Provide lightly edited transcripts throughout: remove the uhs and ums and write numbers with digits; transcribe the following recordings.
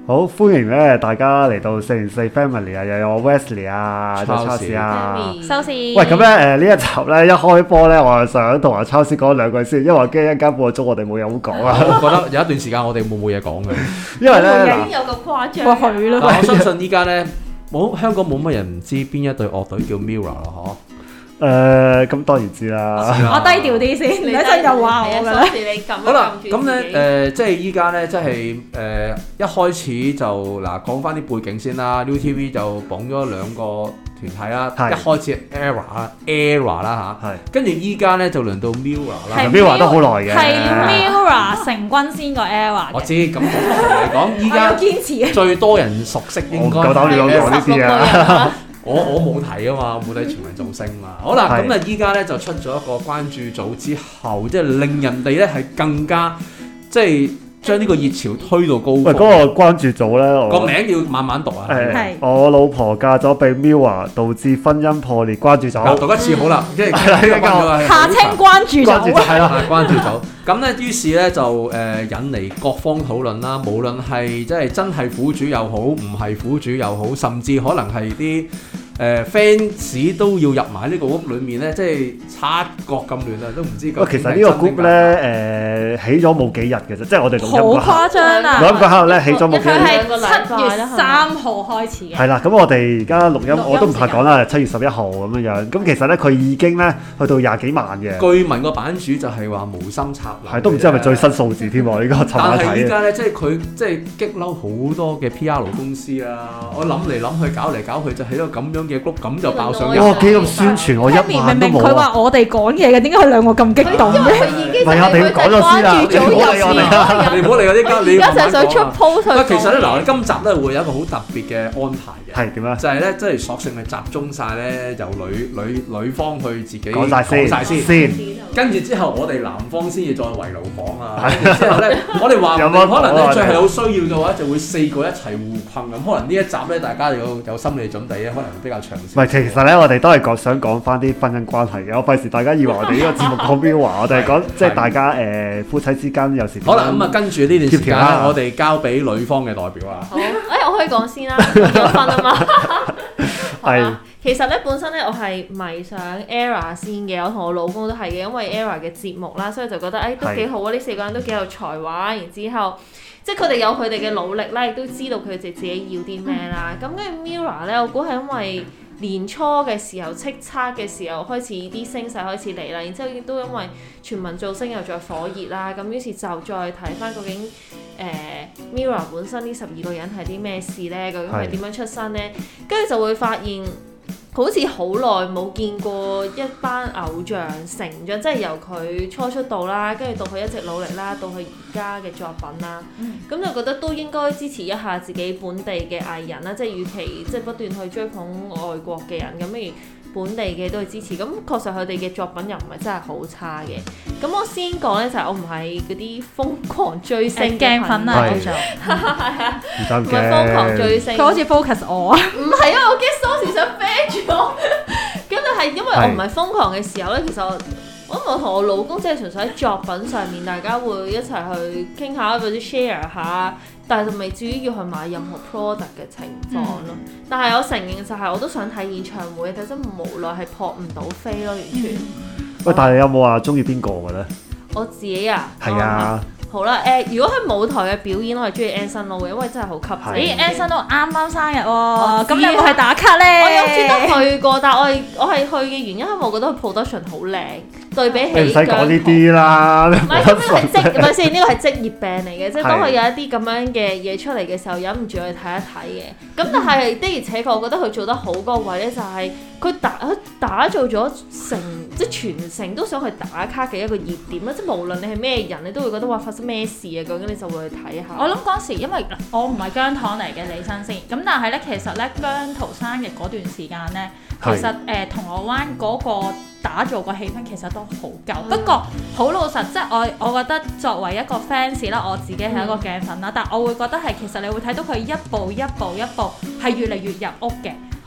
好歡迎咧，大家嚟到404 Family 啊，又有我 Wesley 啊，有 Charles 啊， 收視。 喂，咁咧呢一集咧一開波咧，我係想同阿 Charles 講兩句先，因為我驚一間半個鐘我哋冇嘢好講啊。 我覺得有一段時間我哋冇嘢講嘅， 因為咧已經有咁誇張。哇，係咯。 但我相信依家咧香港冇乜人唔知邊一隊樂隊叫 Mirror 咯， 咁當然知啦。 我低調啲先，你一陣又話我㗎啦。 好啦，咁咧即係依家咧，即係一開始就嗱講翻啲背景先啦。ViuTV 就綁咗兩個團體啦，一開始 Error 啦嚇，跟住依家咧就輪到 Mirror 啦。 Mirror 都好耐嘅， 係 Mirror 成軍先過 Error。 我知，咁嚟講依家最多人熟悉應該夠膽亂講呢啲啊！ 我冇睇啊嘛，冇睇全民造星嘛。好啦，咁啊依家咧就出咗一個關注組之後，即係令人哋咧係更加即係將呢個熱潮推到高峰。 喂，嗰個關注組咧， 個名要慢慢讀啊。 係我老婆嫁咗俾 Mirror，導致婚姻破裂。關注組讀一次好啦，即係下稱關注組係啦，關注組。咁咧，於是咧就引嚟各方討論啦。無論係即係真係苦主又好，唔係苦主又好，甚至可能係啲fans 都要入埋呢個 group 裏面咧，即係察覺咁亂啊，都唔知。 其實呢個 group 咧起咗冇幾日嘅啫，即係我哋錄音好誇張啊！ 錄音嗰刻咧起咗冇幾日。 佢係7月3號開始嘅。 係啦，咁我哋而家錄音我都唔怕講啦，7月11號咁樣樣。咁其實咧佢已經咧去到20幾萬嘅。 據聞個版主就係話無心插柳。 係都唔知係咪最新數字添喎？呢個尋晚睇嘅。 但係依家咧，即係佢即係激嬲好多嘅 PR 公司啦。我諗嚟諗去，搞嚟搞去就起咗咁樣嘅 group，咁就爆上。 哇！幾咁宣傳，我一萬都冇。 明明佢話我哋講嘢嘅，點解佢兩個咁激動嘅？ 唔係啊！你講咗先啦，你唔好理我哋啦， 你唔好理我啲家，你而家就想出 post 其實咧，嗱，今集咧會有一個好特別嘅安排嘅。 係點啊？ 就係咧，即係索性係集中晒咧，由女方去自己講晒先， 跟住之後我哋男方先至再圍爐講啊。之後咧，我哋話可能咧，最係有需要嘅話，就會4個一齊互困咁。可能呢一集咧，大家有心理準備咧，可能比較長。 唔係，其實咧，我哋都係想講翻啲婚姻關係嘅。我費事大家以為我哋呢個節目講 Mirror，我哋係講即係大家夫妻之間有時。 好啦，咁啊，跟住呢段時間咧，我哋交俾女方嘅代表啊。 好，我可以講先啦，結婚啊嘛。 係。 其實咧，本身咧，我係迷上 Error 先嘅，我同我老公都係嘅，因為 Error 嘅節目啦，所以就覺得都幾好啊！呢4個人都幾有才華，然之後即係佢哋有佢哋嘅努力啦，亦都知道佢哋自己要啲咩啦。咁跟住 Mirror 咧，我估係因為年初嘅時候叱咤嘅時候開始啲聲勢開始嚟啦，然之後亦都因為全民造星又再火熱啦，咁於是就再睇翻究竟Mirror 本身呢12個人係啲咩事咧？究竟係點樣出身咧？跟住就會發現。好似好耐冇見過一班偶像成長，即係由佢初出道啦，跟住到佢一直努力啦，到佢而家嘅作品啦，咁就覺得都應該支持一下自己本地嘅藝人啦，即係與其即係不斷去追捧外國嘅人，咁不如本地嘅都去支持。咁確實佢哋嘅作品又唔係真係好差嘅。咁我先講咧就係我唔係嗰啲瘋狂追星鏡粉啊， 係啊，唔係瘋狂追星。 佢好似 focus 我啊， 唔係啊，我驚收視想啤住我。咁就係因為我唔係瘋狂嘅時候咧，其實我同我老公即係純粹喺作品上面，大家會一齊去傾下或者 share 下，但係就未至於要去買任何 product 嘅情況咯。但係我承認就係我都想睇演唱會，但真無奈係撲唔到飛咯，完全。 喂，但係你有冇話中意邊個嘅咧？ 我自己啊， 係啊。 好啦，如果喺舞台嘅表演，我係中意 Anson Lo 嘅，因為真係好吸引。 Anson Lo 啱啱生日喎，咁你有冇去打卡咧？ 我有專登去過，但係我係去嘅原因係我覺得佢 production 好靚，對比起。 你唔使講呢啲啦。 唔係，咁係咪先？呢個係職業病嚟嘅，即係當佢有一啲咁樣嘅嘢出嚟嘅時候，忍唔住去睇一睇嘅。咁但係的而且確，我覺得佢做得好嗰個位咧，就係佢打造咗即係全城都想去打卡嘅一個熱點啦。即係無論你係咩人，你都會覺得話發生咩事啊？究竟你就會去睇下。 我諗嗰時因為我唔係姜糖嚟嘅，李生先。咁但係咧，其實咧姜濤生日嗰段時間咧，其實銅鑼灣嗰個打造個氣氛其實都好夠。不過好老實，即係我覺得作為一個 fans 啦，我自己係一個鏡粉啦，但我會覺得係其實你會睇到佢一步一步係越嚟越入屋嘅。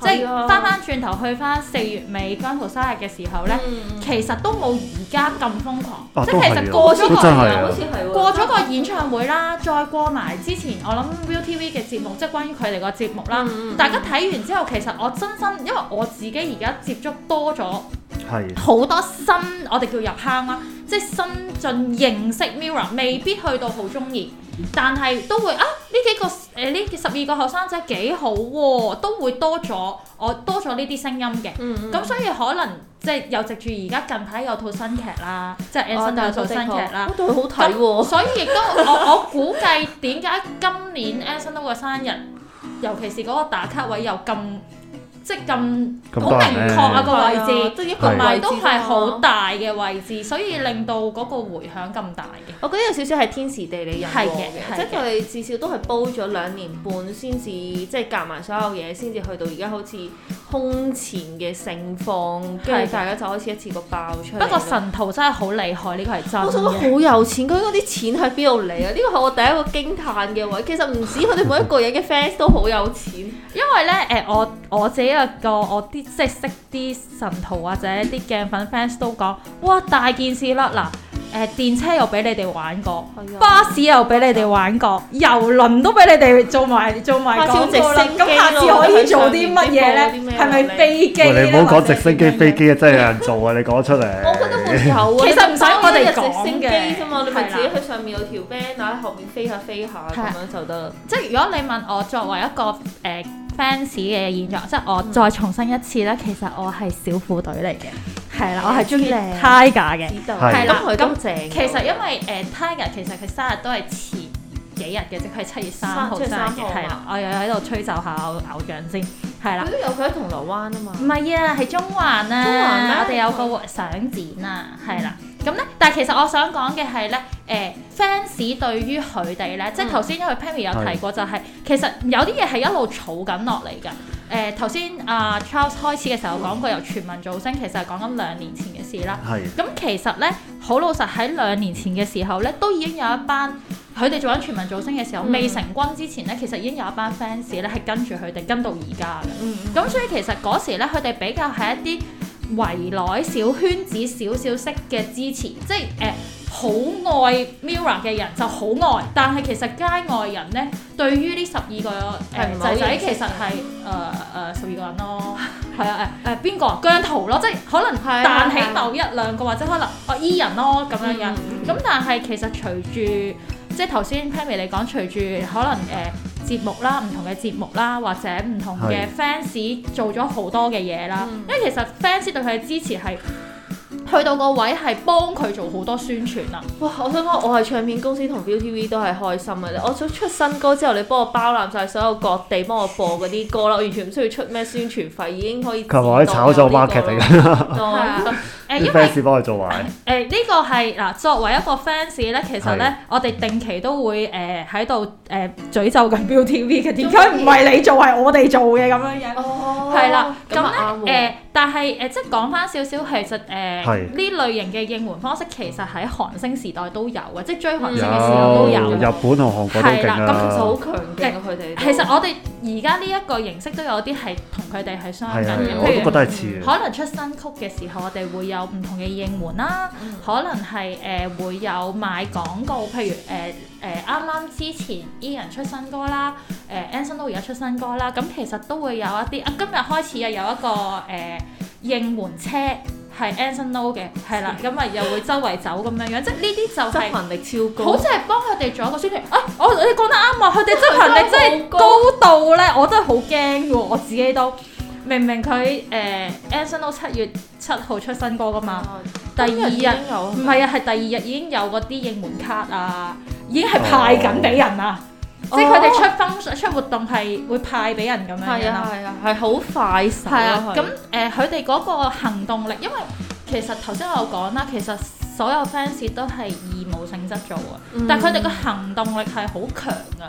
即係翻轉頭去翻4月尾姜濤生日嘅時候咧，其實都冇而家咁瘋狂，即係其實過咗個演唱會啦，再過埋之前我諗 ViuTV 嘅節目，即係關於佢哋個節目啦，大家睇完之後，其實我真心因為我自己而家接觸多咗好多新，我哋叫入坑啦，即係新進認識 Mirror， 未必去到好中意。但係都會呢幾個呢12個後生仔幾好喎，都會多咗呢啲聲音嘅。咁所以可能即係又藉住而家近排有套新劇啦，即係 Anson 都有套新劇啦， 都好睇喎。 所以亦都我估計點解今年 Anson 都個生日，尤其是嗰個打卡位又咁。即係咁好明確啊個位置，同埋都係好大嘅位置，所以令到嗰個迴響咁大嘅。 我覺得有少少係天時地利人和嘅，即係佢哋至少都係煲咗2年半先至，即係夾埋所有嘢先至去到而家好似空前嘅盛況，跟住大家就開始一次過爆出嚟。 不過神徒真係好厲害，呢個係真嘅。 我覺得好有錢，佢嗰啲錢喺邊度嚟啊？呢個係我第一個驚歎嘅位。其實唔止佢哋每一個人嘅 fans 都好有錢， 因為咧我自己我啲即係識啲神徒或者啲鏡粉 fans 都講，哇大件事啦嗱，電車又俾你哋玩過，巴士又俾你哋玩過，郵輪都俾你哋做埋廣告啦。咁下次可以做啲乜嘢咧？係咪飛機咧？ 你唔好講直升機、飛機啊，真係有人做啊！你講出嚟。 我覺得會有啊。 其實唔使我哋講直升機啫嘛，你咪自己去上面有條 band 喺後面飛下咁樣就得。 即係如果你問我作為一個fans 嘅現狀，即係我再重申一次咧，其實我係小虎隊嚟嘅，係啦，我係中意 Tiger 嘅，係啦，咁其實因為Tiger 其實佢生日都係前幾日嘅，即係7月3號生日嘅，係啦，我又喺度吹奏下偶像先，係啦。 佢都有佢喺銅鑼灣啊嘛。 唔係啊，係中環啊，我哋有個相展啊，係啦。咁咧，但係其實我想講嘅係咧，fans 對於佢哋咧，即係頭先因為 Pammy 有提過，就係其實有啲嘢係一路儲緊落嚟嘅。頭先Charles 開始嘅時候講過由全民造星，其實係講緊2年前嘅事啦。咁其實咧，好老實喺2年前嘅時候咧，都已經有一班佢哋做緊全民造星嘅時候，未成軍之前咧，其實已經有一班 fans 咧係跟住佢哋跟到而家嘅。咁所以其實嗰時咧，佢哋比較係一啲圍內小圈子少少式嘅支持，即係好愛 Mirror 嘅人就好愛，但係其實街外人咧對於呢12個仔仔其實係12個人咯，係啊邊個姜濤咯，即係可能彈起某一兩個或者可能E 人咯咁樣樣，咁但係其實隨住即係頭先 Pammy 你講，隨住可能節目啦，唔同嘅節目啦，或者唔同嘅 fans 做咗好多嘅嘢啦。因為其實 fans 對佢嘅支持係去到個位係幫佢做好多宣傳啦。 哇！我想講，我係唱片公司同 ViuTV 都係開心嘅。我想出新歌之後，你幫我包攬晒所有各地幫我播嗰啲歌啦，我完全唔需要出咩宣傳費，已經可以。佢話可以炒作 marketing 㗎。啲 fans 幫佢做埋。 呢個係嗱，作為一個 fans 咧，其實咧，我哋定期都會喺度詛咒緊 ViuTV 嘅，點解唔係你做係我哋做嘅咁樣樣？係啦，咁咧但係即係講翻少少，其實呢類型嘅應援方式其實喺韓星時代都有嘅，即係追韓星嘅時候都有。 日本同韓國都勁啊！ 咁其實好強勁啊！佢哋其實我哋而家呢一個形式都有啲係同佢哋係相近嘅， 我都覺得係似。 可能出新曲嘅時候，我哋會有唔同嘅應援啦，可能係會有賣廣告，譬如啱啱之前 E 人出新歌啦，Anson 都而家出新歌啦，咁其實都會有一啲今日開始又有一個應援車係 Anson Lo 嘅，係啦，咁啊又會周圍走咁樣樣，即係呢啲就係執行力超高， 好似係幫佢哋做一個宣傳。你講得啱啊！佢哋執行力真係高到咧，我真係好驚喎！我自己都明明佢Anson Lo 7月7號出新歌噶嘛，第二日唔係啊，係第2日已經有嗰啲應援卡啊，已經係派緊俾人啊！即係佢哋出活動係會派俾人咁樣樣啦， 係好快手。係啊， 咁佢哋嗰個行動力，因為其實頭先我有講啦，其實所有 fans 都係義務性質做啊，但係佢哋個行動力係好強噶，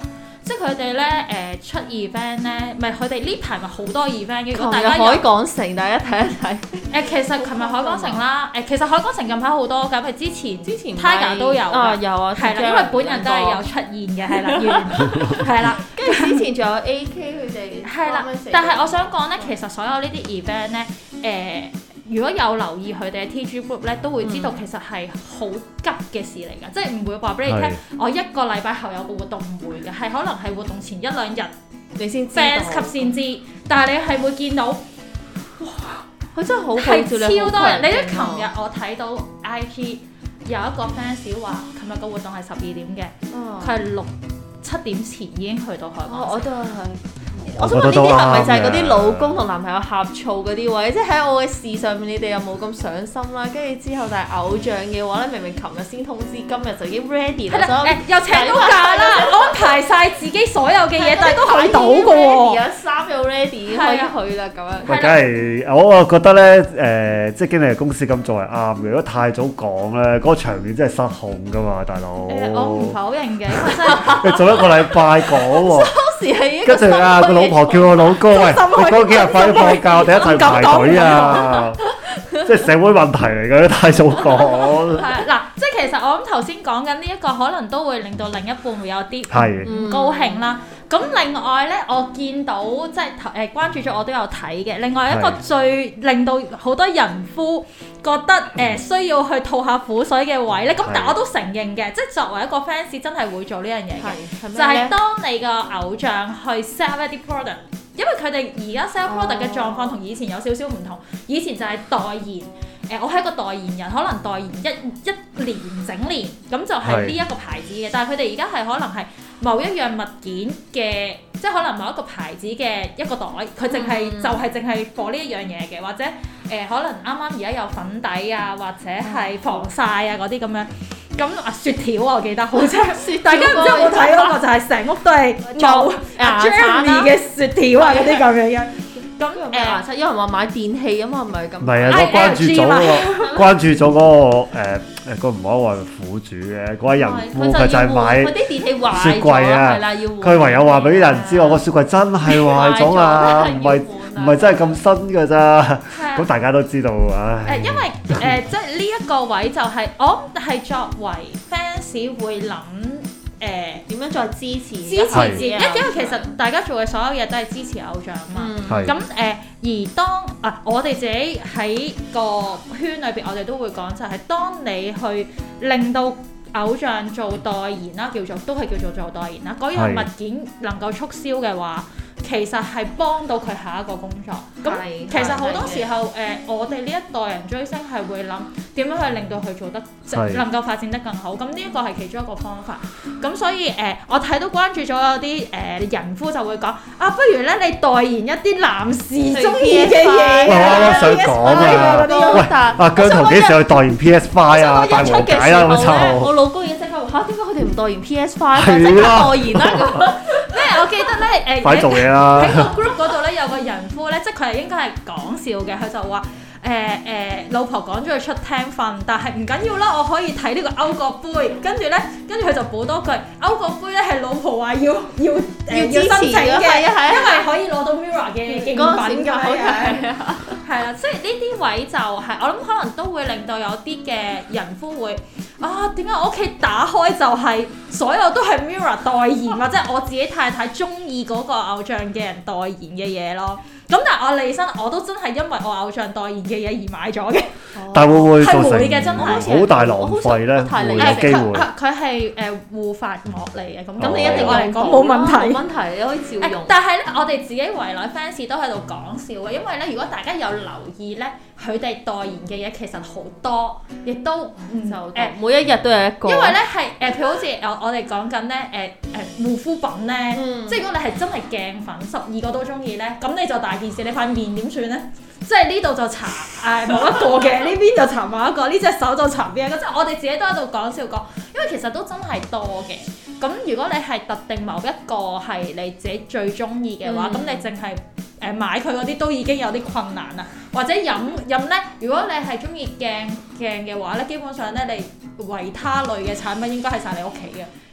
即係佢哋咧出 event 咧，咪佢哋呢排咪好多 event 嘅。如果大琴日家海港城，大家睇一睇。 其實琴日海港城啦，其實海港城近排好多㗎，譬如之前 Tiger 都有㗎， 有啊， 係啦，因為本人都係有出現嘅，係啦，係啦， 跟住之前仲有 AK 佢哋。 係啦，但係我想講咧，其實所有呢啲 event 咧，如果有留意佢哋嘅 TG group 咧，都會知道其實係好急嘅事嚟㗎，即係唔會話俾你聽，我一個禮拜後有個活動，唔會嘅，係可能係活動前1-2日你先知 fans 級先知，但係你係會見到，哇！ 佢真係好係超多人。你都都琴日我睇到 IG 有一個 fans 話，琴日個活動係12點嘅，佢係6-7點前已經去到海港城。 我都係。我想問呢啲係咪就係嗰啲老公同男朋友呷醋嗰啲位？即係喺我嘅事上面，你哋又冇咁上心啦。跟住之後，但係偶像嘅話咧，明明琴日先通知，今日就已經 ready 啦。 又請到假啦，安排晒自己所有嘅嘢，但係都去到嘅喎。 而家衫又 ready，可以去啦咁樣。 喂，梗係我覺得咧，即係經理公司咁做係啱嘅。如果太早講咧，嗰個場面真係失控㗎嘛，大佬。 我唔否認嘅，因為真係你做一個禮拜講喎。 當時係一個跟住啊，個老婆叫我老公，喂，你嗰幾日快啲放假，我哋一齊排隊啊！即係社會問題嚟嘅，太早講。 係嗱，即係其實我諗頭先講緊呢一個，可能都會令到另一半會有啲唔高興啦。咁另外咧，我見到即係關注咗，我都有睇嘅。另外一個最令到好多人夫覺得需要去吐下苦水嘅位咧，咁但我都承認嘅，即係作為一個 fans 真係會做呢樣嘢嘅，就係當你個偶像去 sell 一啲 product，因為佢哋而家 sell product 嘅狀況同以前有少少唔同，以前就係代言。我係一個代言人，可能代言一年整年，咁就係呢一個牌子嘅。但係佢哋而家係可能係某一樣物件嘅，即係可能某一個牌子嘅一個袋，佢淨係就係淨係for呢一樣嘢嘅，或者可能啱啱而家有粉底啊，或者係防曬啊嗰啲咁樣。咁雪條我記得好似，大家唔知有冇睇嗰個就係成屋都係冇 Jeremy 嘅雪條啊嗰啲咁樣嘅。咁有人話買電器啊嘛，唔係咁。 唔係啊，我關注咗嗰個個唔可以話苦主嘅嗰位人夫，佢就係買雪櫃啊。佢唯有話俾啲人知，我個雪櫃真係壞咗啊，唔係真係咁新㗎咋。咁大家都知道唉。 因為即係呢一個位就係我係作為 fans 會諗。 點樣再支持自己？ 因為其實大家做嘅所有嘢都係支持偶像嘛。咁而當我哋自己喺個圈裏邊，我哋都會講就係當你去令到偶像做代言啦，都係叫做代言啦。嗰樣物件能夠促銷嘅話，其實係幫到佢下一個工作。咁其實好多時候我哋呢一代人追星係會諗點樣去令到佢做得能夠發展得更好。咁呢一個係其中一個方法。咁所以我睇到關注咗有啲人夫就會講不如咧你代言一啲男士中意嘅嘢我想講啊，喂，姜濤幾時去代言 PS5 啊？大和解啦咁就。 我老公已經即刻話點解佢哋唔代言 PS5？即刻代言啦咁。 我記得咧快做嘢啦！ 喺個 group 嗰度咧有個人夫咧，即係佢係應該係講笑嘅，佢就話老婆趕咗佢出廳瞓，但係唔緊要啦，我可以睇呢個歐國杯，跟住佢就補多句歐國杯咧係老婆話要申請嘅，因為可以攞到 Mirror 嘅競品㗎，係啦，即係呢啲位就係我諗可能都會令到有啲嘅人夫會點解我屋企打開就係所有都係 Mirror 代言，或者我自己太太中意嗰個偶像嘅人代言嘅嘢咯。咁但係我利申我都真係因為我偶像代言嘅嘢而買咗嘅。 但會唔會造成好大浪費咧？會有機會。 佢係護髮膜嚟嘅，咁你一定嚟講冇問題。 冇問題，你可以照用。 但係咧，我哋自己圍內 fans 都喺度講笑嘅，因為咧，如果大家有留意咧，佢哋代言嘅嘢其實好多，亦都每一日都有一個。因為咧係譬如好似我哋講緊咧護膚品咧，即係如果你係真係鏡粉12個都中意咧，咁你就大件事，你塊面點算咧？即係呢度就搽某一個嘅，呢邊就搽某一個，呢隻手就搽邊一個，即係我哋自己都喺度講笑講，因為其實都真係多嘅。咁如果你係特定某一個係你自己最中意嘅話，咁你淨係買佢嗰啲都已經有啲困難啦。或者飲咧，如果你係中意鏡嘅話咧，基本上咧你維他類嘅產品應該係晒你屋企嘅。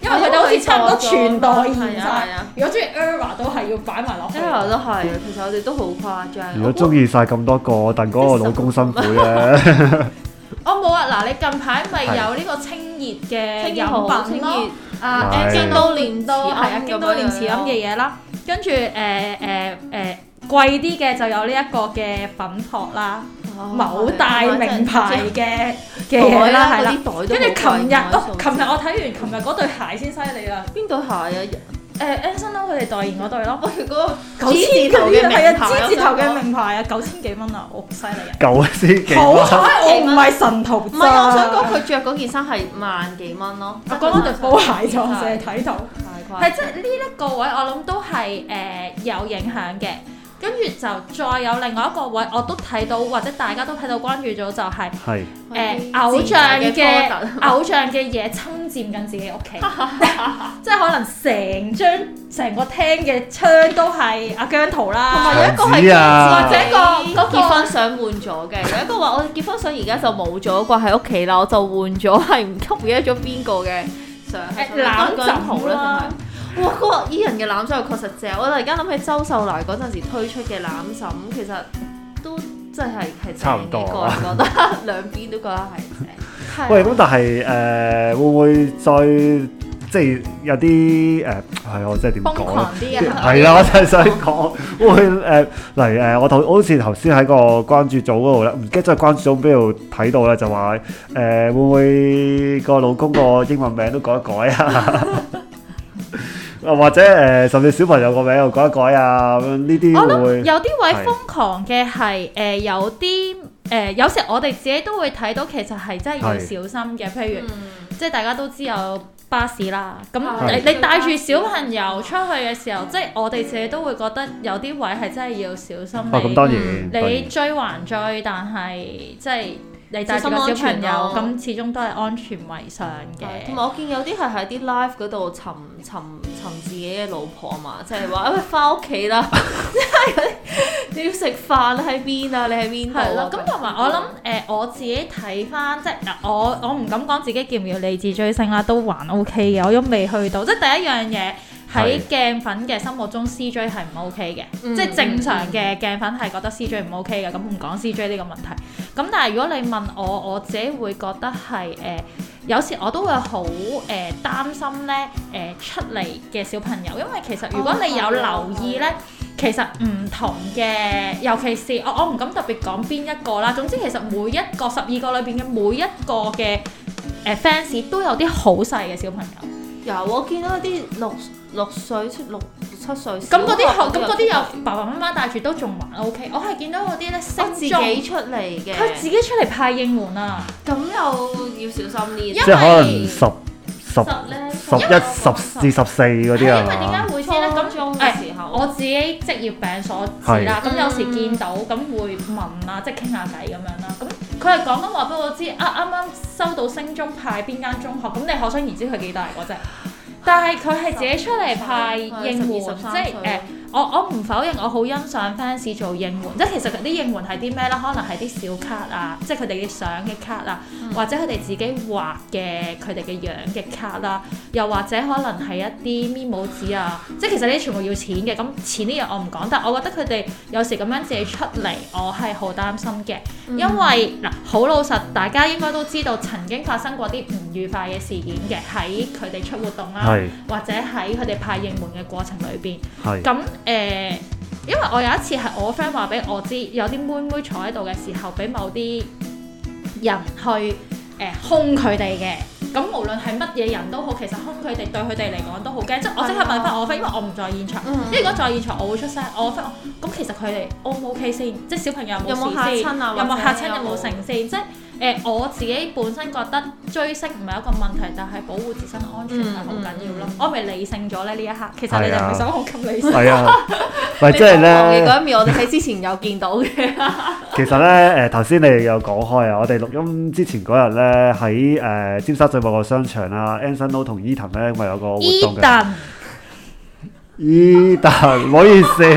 因為佢哋好似差唔多全代言晒。 係啊， 如果中意 ERROR 都係要擺埋落去。 ERROR 都係，其實我哋都好誇張。 如果中意晒咁多個，戥嗰個老公辛苦咧。 我冇啊！嗱，你近排咪有呢個清熱嘅飲品咯， 京都念慈係啊，京都念慈菴嘅嘢啦，跟住貴啲嘅就有呢一個嘅粉撲啦，某大名牌嘅嘢啦，係啦，跟住琴日我睇完琴日嗰對鞋先犀利啦， 邊對鞋啊 ？Anson Lo 佢哋代言嗰對咯， 嗰個 9千頭嘅係啊，G 字頭嘅名牌啊，9000幾蚊啊，我犀利啊 ！9000幾蚊， 好彩我唔係神徒， 唔係我想講佢着嗰件衫係萬幾蚊咯。 我講嗰對波鞋就淨係睇到， 係即係呢一個位我諗都係有影響嘅。跟住就再有另外一個位，我都睇到或者大家都睇到關注咗，就係偶像嘅嘢侵佔緊自己屋企，即係可能成個廳嘅窗都係阿姜濤啦， 同埋有一個係或者個結婚相換咗嘅，有一個話我結婚相而家就冇咗掛喺屋企啦，我就換咗係唔記得咗邊個嘅相， 攬枕啦。 哇！嗰個伊人嘅攬枕確實正，我突然間諗起周秀娜嗰陣時推出嘅攬枕，其實都真係差唔多， 我覺得兩邊都覺得係正。 喂，咁但係會唔會再即係有啲係我真係點講咧？係啦，我真係想講會嚟我好似頭先喺個關注組嗰度咧，唔記得咗關注組邊度睇到咧，就話會唔會個老公個英文名都改一改啊？或者甚至小朋友個名又改一改啊，咁呢啲會唔會？ 有啲位瘋狂嘅係有啲有時我哋自己都會睇到，其實係真係要小心嘅。譬如即係大家都知有巴士啦，咁你帶住小朋友出去嘅時候，即係我哋自己都會覺得有啲位係真係要小心。 咁當然你追還追，但係即係。你帶住個小朋友，咁始終都係安全為上嘅。 同埋我見有啲係喺啲 live 嗰度尋自己嘅老婆嘛，即係話翻屋企啦，即係你要食飯喺邊啊？你喺邊度？係啦， 咁同埋我諗我自己睇翻，即係我唔敢講自己叫唔叫理智追星啦，都還 OK 嘅，我都未去到。即係第一樣嘢。喺鏡粉嘅心目中 CJ 係唔 OK 嘅，即係正常嘅鏡粉係覺得 CJ 唔 OK 嘅，咁唔講 CJ 呢個問題。咁但係如果你問我自己會覺得係有時我都會好擔心咧出嚟嘅小朋友，因為其實如果你有留意咧，其實唔同嘅，尤其是我唔敢特別講邊一個啦。總之其實每一個12個裏邊嘅每一個嘅fans 都有啲好細嘅小朋友。 有我見到一啲6歲、6、7歲， 咁嗰啲有爸爸媽媽帶住都仲還 OK。我係見到嗰啲咧升自己出嚟嘅， 佢自己出嚟派應援啊！ 咁又要小心啲， 即係可能11、10至14嗰啲啊。 因為點解會先咧？咁我自己職業病所致啦。咁有時見到咁會問啊，即係傾下偈咁樣啦。咁佢係講緊話俾我知啱啱收到升中派邊間中學，咁你可想而知佢幾大嗰隻。但係佢係自己出嚟派應援，即係我唔否認，我好欣賞 fans 做應援，即係其實啲應援係啲咩咧？可能係啲小卡啊，即係佢哋嘅相嘅卡啊，或者佢哋自己畫嘅佢哋嘅樣嘅卡啦，又或者可能係一啲 memo 紙啊，即係其實呢啲全部要錢嘅。咁錢呢樣我唔講，但我覺得佢哋有時咁樣自己出嚟，我係好擔心嘅，因為嗱好老實，大家應該都知道曾經發生過啲唔愉快嘅事件嘅，喺佢哋出活動啦，或者喺佢哋派應援嘅過程裏邊，咁因為我有一次係我 friend 話俾我知，有啲妹妹坐喺度嘅時候，俾某啲人去兇佢哋嘅。咁無論係乜嘢人都好，其實兇佢哋對佢哋嚟講都好驚。即係我即刻問翻我 friend，因為我唔在現場。因為如果在現場，我會出聲。我 friend 咁其實佢哋 O 唔 OK 先？即係小朋友有冇事先？有冇嚇親？有冇成先？即係我自己本身覺得追星唔係一個問題，但係保護自身安全係好緊要咯。我咪理性咗咧呢一刻。其實你哋唔係想我咁理性。係啊， 咪即係咧。 嗰一面我哋喺之前有見到嘅。 其實咧頭先你哋有講開啊，我哋錄音之前嗰日咧喺尖沙咀某個商場啊 Anson Lo 同 Edan 咧咪有個活動嘅。Edan 唔好意思。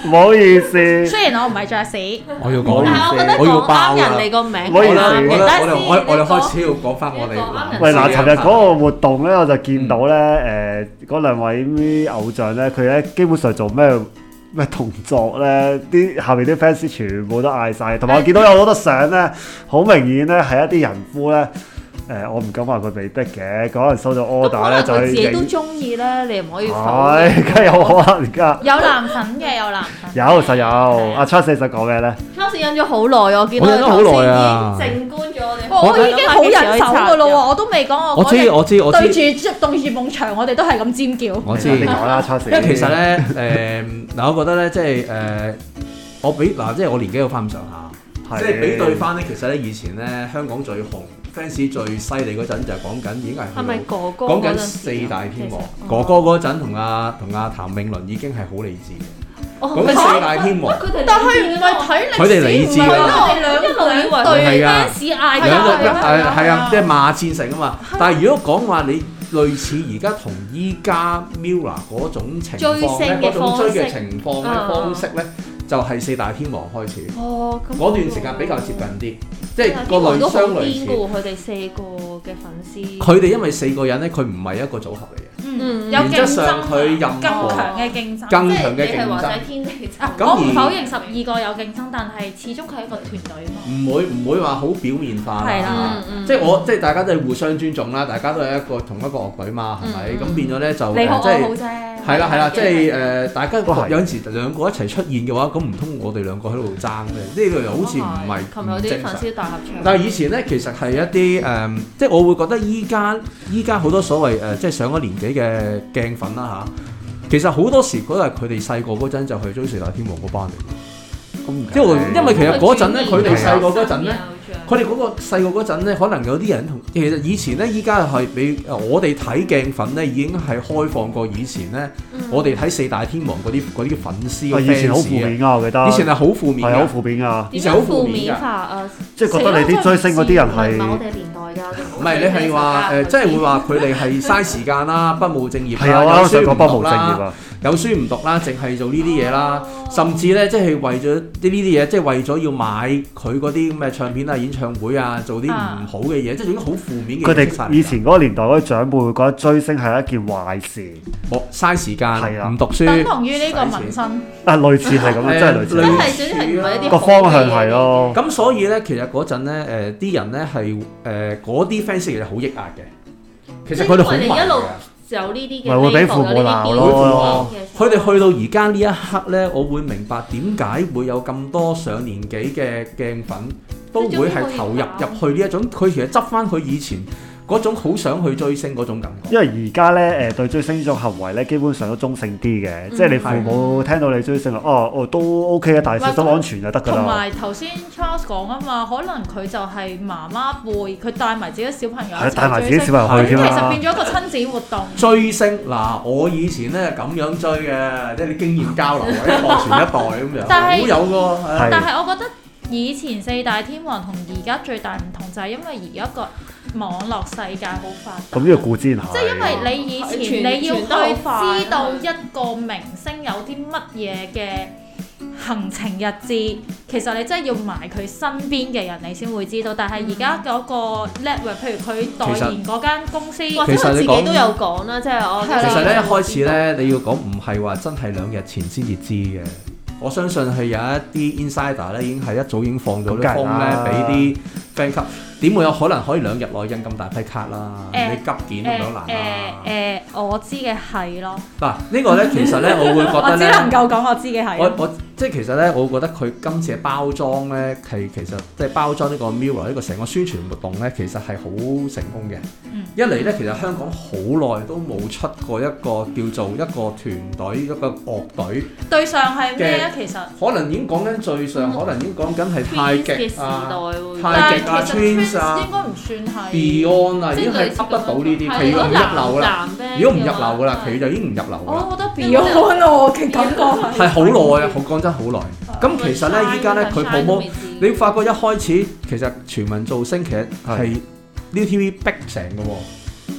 唔好意思。 雖然我唔係爵士， 我要講， 但係我覺得我要講爆啦啱人哋個名唔好意思係啱嘅。但係我哋開始要講翻我哋喂嗱，尋日嗰個活動咧，我就見到咧嗰兩位偶像咧，佢咧基本上做咩動作咧，啲下面啲 fans 全部都嗌晒，同埋我見到有好多相咧，好明顯咧係一啲人夫咧。我唔敢話佢被逼嘅，可能收咗 order 咧就去佢自己都影。 中意咧，你唔可以否係， 認。 梗係有可能㗎。 有男粉嘅，有男粉。 有實有。阿 Charles 想講咩咧？ Charles 忍咗好耐，我見到佢我忍咗好頭耐啊先已經靜觀咗我哋。 我已經好忍手㗎咯喎，我都未講我知對住對住埲牆，我哋都係咁尖叫。 我知。 你講啦，Charles。 因為其實咧嗱，我覺得咧即係我比嗱即係我年紀有翻咁上下，即係比對翻咧，其實咧以前咧香港最紅。fans 最犀利嗰陣就係講緊已經係咪哥哥講緊四大天王，哥哥嗰陣同阿譚詠麟已經係好理智嘅。講緊四大天王， 但係唔係睇歷史， 佢哋理智啦， 佢哋兩對 fans 嗌交， 係啊，即係罵戰成啊嘛。但係如果講話你類似而家同依家 Mirror 嗰種情況咧，嗰種追嘅情況咧方式咧，就係四大天王開始。嗰段時間比較接近啲。即係個類相類似， 佢哋四個嘅粉絲。 佢哋因為四個人咧，佢唔係一個組合嚟嘅。 有競爭， 佢任何更強嘅競爭， 更強嘅競爭。 即係你係話曬天地爭。 我唔否認12個有競爭，但係始終佢係一個團隊嘛。 唔會話好表面化。 係啦， 即係大家都係互相尊重啦，大家都係同一個樂隊嘛，係咪？咁變咗咧就你好我好啫。 係啦，即係大家有陣時兩個一齊出現嘅話，咁唔通我哋兩個喺度爭咩？呢個又好似唔係唔正常。但係以前咧，其實係一啲即係我會覺得依家好多所謂即係上咗年紀嘅鏡粉啦嚇，其實好多時嗰係佢哋細個嗰陣就去追四大天王嗰班嚟。因為其實嗰陣咧，佢哋細個嗰陣咧。佢哋嗰個細個嗰陣咧，可能有啲人其實以前咧，依家係比我哋睇鏡粉咧，已經係開放過以前咧。我哋睇四大天王嗰啲粉絲嘅 fans 以前好負面㗎，我記得。 以前係好負面㗎， 係好負面㗎。 以前好負面㗎。 即係覺得你啲追星嗰啲人係唔係我哋年代㗎。 唔係你係話即係會話佢哋係嘥時間啦，不務正業啦， 有書唔讀啦， 有書唔讀啦，淨係做呢啲嘢啦，甚至咧即係為咗呢啲嘢，即係為咗要買佢嗰啲咁嘅唱片啊、演唱會啊，做啲唔好嘅嘢，即係總之好負面嘅嘢。 佢哋以前嗰個年代嗰啲長輩會覺得追星係一件壞事， 嘥時間，唔讀書， 等同於呢個紋身。 類似係咁樣，真係類似。 真係總之係唔係一啲個方向係咯。 咁所以咧，其實嗰陣咧，啲人咧係嗰啲 fans 其實好抑壓嘅。其實佢哋好慢嘅。 有呢啲嘅， 咪會俾父母鬧咯。 佢哋去到而家呢一刻咧，我會明白點解會有咁多上年紀嘅鏡粉都會係投入去呢一種，佢其實執翻佢以前嗰種好想去追星嗰種感覺。 因為而家咧對追星呢種行為咧，基本上都中性啲嘅，即係你父母聽到你追星都 OK 嘅，但係小心安全就得㗎啦。 同埋頭先 Charles 講啊嘛，可能佢就係媽媽輩，佢帶埋自己小朋友一齊追星， 帶埋自己小朋友去添啦。 其實變咗一個親子活動。 追星嗱，我以前咧咁樣追嘅，即係啲經驗交流，一代傳一代咁樣，好有㗎。 但係我覺得以前四大天王同而家最大唔同就係因為而家個網絡世界好發達， 咁呢個固之然係。 即係因為你以前你要去知道一個明星有啲乜嘢嘅行程日誌，其實你真係要埋佢身邊嘅人，你先會知道。但係而家嗰個 network，譬如佢代言嗰間公司， 或者佢自己都有講啦，即係我。 其實咧一開始咧，你要講唔係話真係2日前先至知嘅。我相信係有一啲 insider 咧，已經係一早已經放咗啲風咧，俾啲 fan 級。點會有可能可以2日內印咁大批卡啦？你急件咁樣難啊！ 我知嘅係咯。 嗱，呢個咧其實咧，我會覺得咧， 我只能夠講我知嘅係。 我即係其實咧，我覺得佢今次嘅包裝咧係其實即係包裝呢個 Mirror 呢個成個宣傳活動咧，其實係好成功嘅。一嚟咧，其實香港好耐都冇出過一個叫做一個團隊一個樂隊。 對上係咩啊？其實可能已經講緊最上，可能已經講緊係太極啊、太極啊、 Twins 應該唔算係 Beyond 啊，已經係噏得到呢啲，佢如果唔入流啦，如果唔入流㗎啦，佢就已經唔入流㗎啦。 我覺得 Beyond 我嘅感覺係好耐啊，講真好耐。咁其實咧，依家咧佢 promote，你發覺一開始其實全民造星其實係 ViuTV 逼成嘅喎。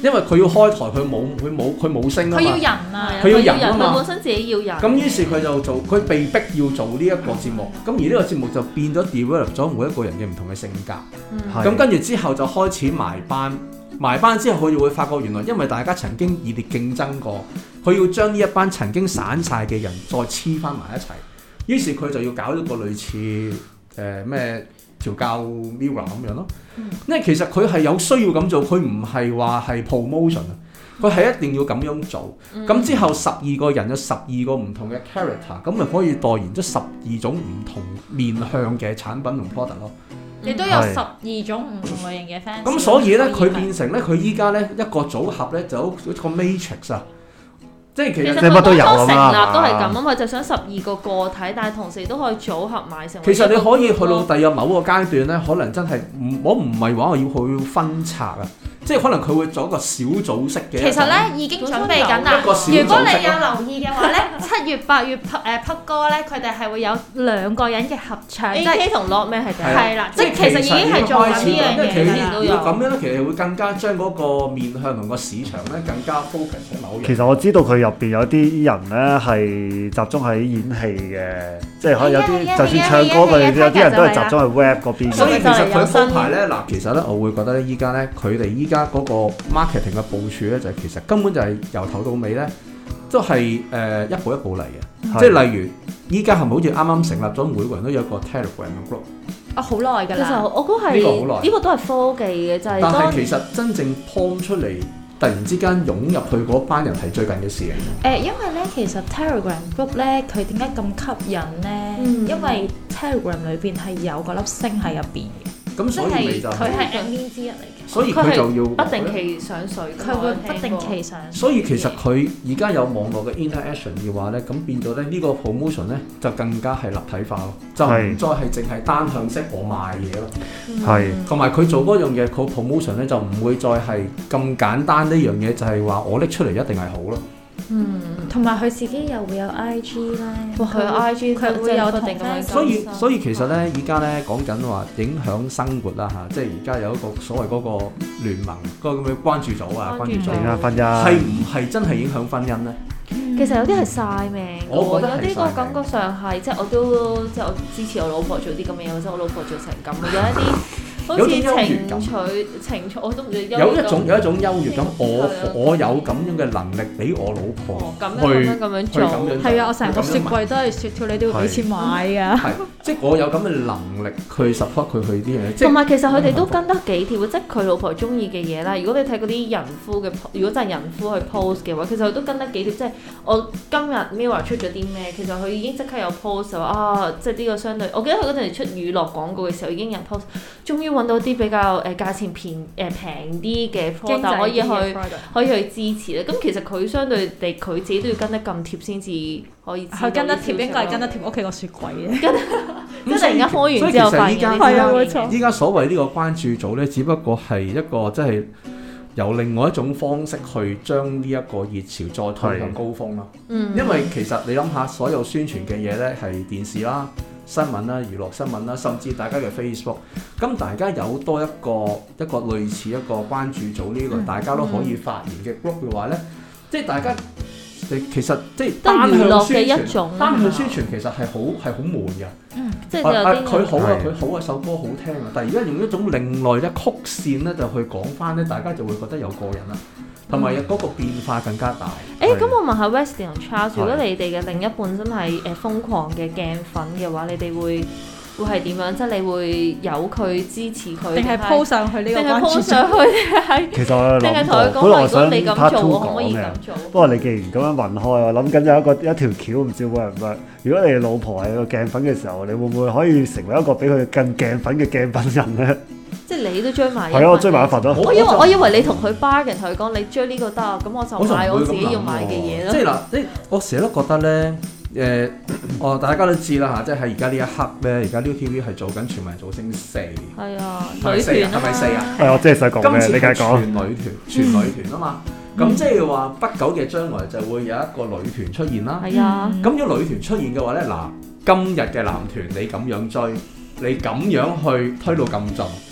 因為佢要開台，佢冇聲啊嘛。 佢要人啊， 佢要人啊嘛。 佢本身自己要人。 咁於是佢就佢被逼要做呢一個節目，咁而呢個節目就變咗 develop 咗每一個人嘅唔同嘅性格。咁跟住之後就開始埋班之後佢就會發覺原來因為大家曾經熱烈競爭過，佢要將呢一班曾經散晒嘅人再黐翻埋一齊。於是佢就要搞一個類似咩調教 Mirror 咁樣咯。因為其實佢係有需要咁做，佢唔係話係 promotion 啊，佢係一定要咁樣做。咁之後12個人有12個唔同嘅 character， 咁咪可以代言咗12種唔同面向嘅產品同 product 咯。 亦都有12種唔同類型嘅 fans。 咁所以咧，佢變成咧，佢依家咧一個組合咧，就好似個 matrix 啊。即係其實乜都有啊嘛。 成立都係咁啊嘛，就想12個個體，但係同時都可以組合埋成為。 其實你可以去到第日某個階段咧，可能真係我唔係話我要去分拆啊。即係可能佢會做一個小組式嘅。 其實咧已經準備緊啦。如果你有留意嘅話咧，7月8月Puck哥咧，佢哋係會有2個人嘅合唱。 AK 同 Lockman 係第一。 係啦，即係其實已經係做緊呢樣嘢都有。咁樣咧，其實會更加將嗰個面向同個市場咧更加 focus 喺某樣。 其實我知道佢入邊有啲人咧係集中喺演戲嘅，即係可能有啲就算唱歌嘅，有啲人都係集中喺 rap 嗰邊。 所以其實佢鋪排咧，嗱，其實咧我會覺得咧，依家咧佢哋依家嗰個 marketing 嘅部署咧，就係其實根本就係由頭到尾咧，都係一步一步嚟嘅。即係例如，依家係咪好似啱啱成立咗，每個人都有個 Telegram 嘅 group？ 好耐㗎啦。 其實我估係呢個都係科技嘅，就係。 但係其實真正 point 出嚟，突然之間湧入去嗰班人係最近嘅事嚟。 因為咧，其實 Telegram group 咧，佢點解咁吸引咧？因為 Telegram 裏邊係有個粒星喺入邊嘅。 咁所以咪就佢係 admin 之一嚟嘅， 所以佢就要不定期上水， 佢會不定期上水。 所以其實佢而家有網絡嘅 interaction 嘅話咧，咁變咗咧呢個 promotion 咧就更加係立體化咯，就唔再係淨係單向式我賣嘢咯。 係， 同埋佢做嗰樣嘢，佢 promotion 咧就唔會再係咁簡單呢樣嘢，就係話我拎出嚟一定係好咯。 同埋佢自己又會有 IG 咧， 佢 IG 佢會有定咁樣。 所以其實咧，而家咧講緊話影響生活啦嚇，即係而家有一個所謂嗰個聯盟嗰個咁嘅關注組啊，關注組影響婚姻係唔係真係影響婚姻咧？ 其實有啲係曬命， 我覺得有啲個感覺上係即係我支持我老婆做啲咁嘅嘢，或者我老婆做成咁，有一啲。好似情趣，我都唔知。 有一種優越感，我有咁樣嘅能力俾我老婆咁樣做。 係啊，我成個雪櫃都係雪條，你都要俾錢買㗎。 係，即係我有咁嘅能力去 support 佢去啲嘢。 同埋其實佢哋都跟得幾貼，即係佢老婆中意嘅嘢啦。如果你睇嗰啲人夫嘅，如果真係人夫去 post 嘅話，其實佢都跟得幾貼。即係我今日 Mirror 出咗啲咩，其實佢已經即刻有 post 話啊，即係呢個相對。我記得佢嗰陣出娛樂廣告嘅時候已經有 post，終於揾到啲比較價錢平啲嘅 product 可以去支持咧。咁其實佢相對地佢自己都要跟得咁貼先至可以。佢跟得貼應該係跟得貼屋企個雪櫃嘅。即係突然間開完之後發現依家所謂呢個關注組咧，只不過係一個即係由另外一種方式去將呢一個熱潮再推向高峰咯。因為其實你諗下，所有宣傳嘅嘢咧係電視啦、新聞啦、娛樂新聞啦，甚至大家嘅 Facebook， 咁大家有多一個類似一個關注組呢個大家都可以發言嘅 group 嘅話咧，即係大家其實即係單向宣傳，單向宣傳其實係好悶嘅。 即係佢好啊，佢好啊，首歌好聽啊，但係而家用一種另類咧曲線咧就去講翻咧，大家就會覺得有過癮啦。同埋嗰個變化更加大。 咁我問下 Wesley 同 Charles， 如果你哋嘅另一半真係瘋狂嘅鏡粉嘅話，你哋會係點樣？即係你會由佢支持佢， 定係 po 上去呢個關注？定係 po 上去？ 其實我諗過，本來我想 part 2講嘅。不過你既然咁樣問開，我諗緊有一條橋，唔知會唔會？如果你老婆係個鏡粉嘅時候，你會唔會可以成為一個比佢更鏡粉嘅鏡粉人咧？ 即係你都追埋， 係咯，我追埋一份咯。 我以為你同佢 bargain，同佢講你追呢個得，咁我就買我自己要買嘅嘢咯。 即係嗱，我成日都覺得咧，大家都知啦嚇，即係喺而家呢一刻咧，而家 ViuTV 係做緊全民造星4。 係啊， 女團係咪4啊？ 係我真係想講咩？你繼續講。 全女團啊嘛，咁即係話不久嘅將來就會有一個女團出現啦。 係啊。 咁如果女團出現嘅話咧，嗱，今日嘅男團你咁樣追，你咁樣去推到咁盡。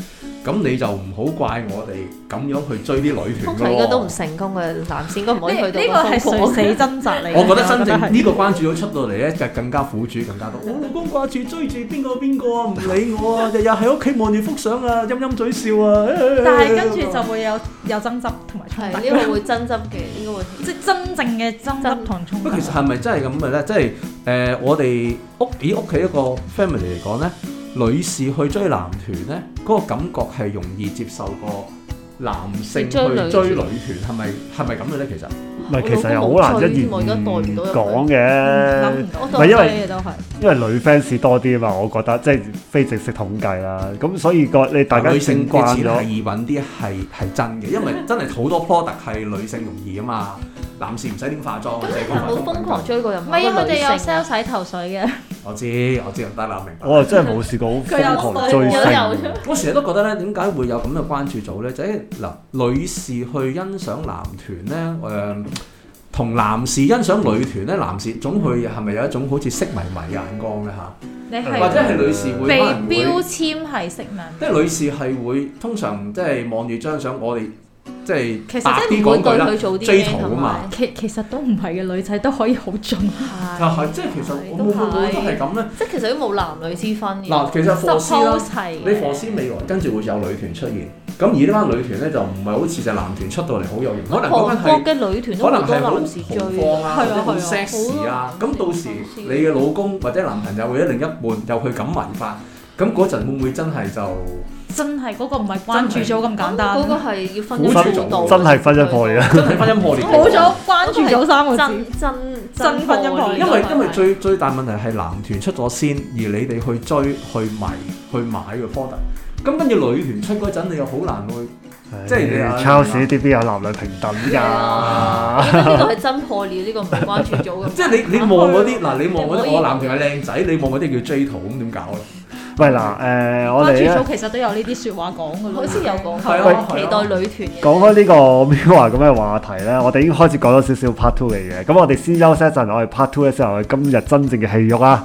咁你就唔好怪我哋咁樣去追啲女團通常應該都唔成功嘅，男士應該唔可以去到呢個係垂死掙扎嚟。 我覺得真正呢個關注到出到嚟咧，就更加苦主更加多。我老公掛住追住邊個啊，唔理我啊，日日喺屋企望住幅相啊，陰陰嘴笑啊。 但係跟住就會有爭執同埋衝突。 呢個會爭執嘅，應該會即係真正嘅爭執同衝突。 不過其實係咪真係咁嘅咧？即係我哋屋企一個 family 嚟講咧。女士去追男團咧，嗰個感覺係容易接受過男性去追女團，係咪咁嘅咧？其實唔係，其實又好難一言講嘅，唔係因為女 fans 多啲啊嘛，我覺得即係非正式統計啦。咁所以你大家女性嘅錢咗係易揾啲係真嘅，因為真係好多 product 係女性容易啊嘛，男士唔使點化妝， 冇瘋狂追過任何女性。唔係，佢哋有 sell 洗頭水嘅。 我知唔得啦，明白。 我真係冇試過好瘋狂追星。 我成日都覺得咧，點解會有咁嘅關注組咧？就係嗱，女士去欣賞男團咧，同男士欣賞女團咧，男士總會係咪有一種好似色迷嘅眼光咧嚇？或者係女士會可能被標籤係色迷。 即係女士係會通常即係望住張相，我哋。即係白啲講句啦， 追圖啊嘛。 其實都唔係嘅，女仔都可以好盡。 就係即係其實我都係咁咧。 即係其實都冇男女之分嘅。 嗱，其實貨絲啦，你貨絲未來跟住會有女團出現。咁而呢班女團咧就唔係好似隻男團出到嚟好有型，可能嗰班係嘅女團都好多男士追， 好 sexy 啊。咁到時你嘅老公或者男朋友或者另一半又去咁迷法，咁嗰陣會唔會真係就？ 真係嗰個唔係關注組咁簡單， 嗰個係要婚姻組， 真係婚姻破裂啊！ 真係婚姻破裂， 冇咗關注組3個字， 真婚姻破裂。 因為最大問題係男團出咗先，而你哋去追、去迷、去買個 product， 咁跟住女團出嗰陣，你又好難去，即係你 Charles 呢啲邊有男女平等㗎？ 呢個係真破裂，呢個唔係關注組咁。 即係你望嗰啲嗱，你望嗰啲我男團係靚仔，你望嗰啲叫 J 圖咁點搞咧？ 喂嗱，我哋關注組其實都有呢啲説話講㗎咯， 好似有講過期待女團。 講開呢個 MIRROR 咁嘅話題咧，我哋已經開始講咗少少 part 2嚟嘅，咁我哋先休息一陣，我哋 part 2嘅時候，我哋今日真正嘅戲肉啊！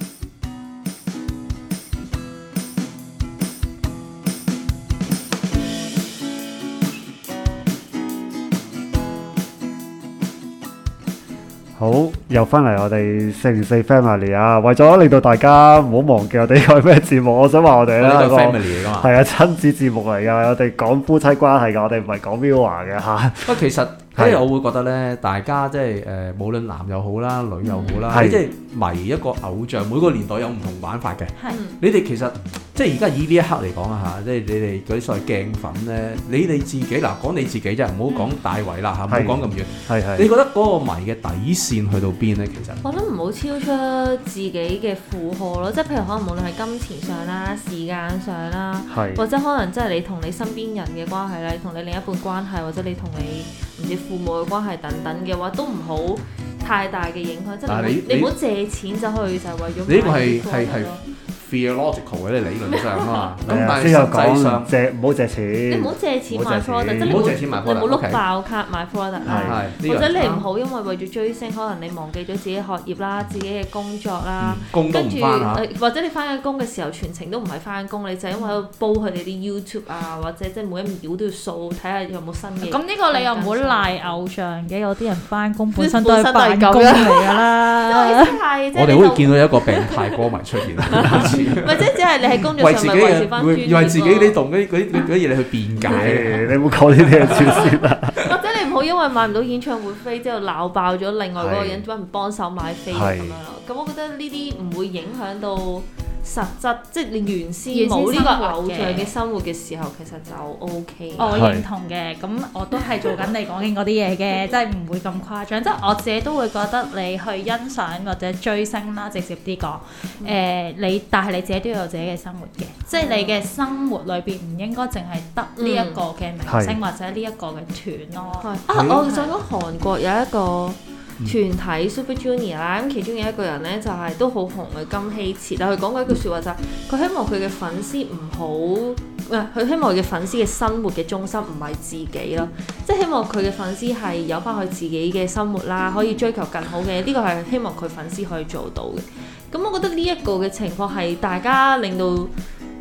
好，又翻嚟我哋404 Family 啊！為咗令到大家唔好忘記我哋係咩節目，我想話我哋咧係 family 嚟㗎嘛， 係啊，親子節目嚟㗎，我哋講夫妻關係㗎，我哋唔係講 MIRROR 嘅嚇。 不過其實我會覺得咧，大家即係無論男又好啦，女又好啦，即係迷一個偶像，每個年代有唔同玩法嘅。你哋其實即係而家以呢一刻嚟講啊嚇，即係你哋嗰啲所謂鏡粉咧，你哋自己嗱講你自己啫，唔好講大圍啦嚇，唔好講咁遠。係。你覺得嗰個迷嘅底線去到邊咧？其實我諗唔好超出自己嘅負荷咯，即係譬如可能無論係金錢上啦、時間上啦，或者可能即係你同你身邊人嘅關係啦，你同你另一半關係，或者你同你唔知父母嘅關係等等嘅話，都唔好太大嘅影響。即係你唔好借錢就去就係為咗呢個係 theological 嘅理論上啊嘛，咁但係先有實際上唔好借錢， 你唔好借錢買 product， 即係你唔好碌爆卡買 product 啦，或者你唔好因為咗追星，可能你忘記咗自己學業啦、自己嘅工作啦，跟住或者你翻緊工嘅時候全程都唔係翻緊工，你就因為喺度煲佢哋啲 YouTube 啊，或者即係每一秒都要掃睇下有冇新嘅。 咁呢個你又唔好賴偶像嘅，有啲人翻工本身都係辦公嚟㗎啦。 我哋好似見到一個病態歌迷出現。 或者只係你喺工作上咪維持翻專業， 以為自己你同嗰啲嘢你去辯解， 你唔好講呢啲嘢住先啦。 或者你唔好因為買唔到演唱會飛之後鬧爆咗另外嗰個人，揾唔幫手買飛咁樣咯。咁我覺得呢啲唔會影響到實質，即係你原先冇呢個偶像嘅生活嘅時候，其實就 OK。 我認同嘅，咁我都係做緊你講緊嗰啲嘢嘅，即係唔會咁誇張。即係我自己都會覺得你去欣賞或者追星啦，直接啲講，但係你自己都有自己嘅生活嘅，即係你嘅生活裏邊唔應該淨係得呢一個嘅明星或者呢一個嘅團咯。 我想講韓國有一個團體 Super Junior 啦，咁其中有一個人咧就係都好紅嘅金希澈，但佢講過一句説話就係佢希望佢嘅粉絲唔好，佢希望佢嘅粉絲嘅生活嘅中心唔係自己咯，即係希望佢嘅粉絲係有翻佢自己嘅生活啦，可以追求更好嘅，呢個係希望佢粉絲可以做到嘅。咁我覺得呢一個嘅情況係大家令到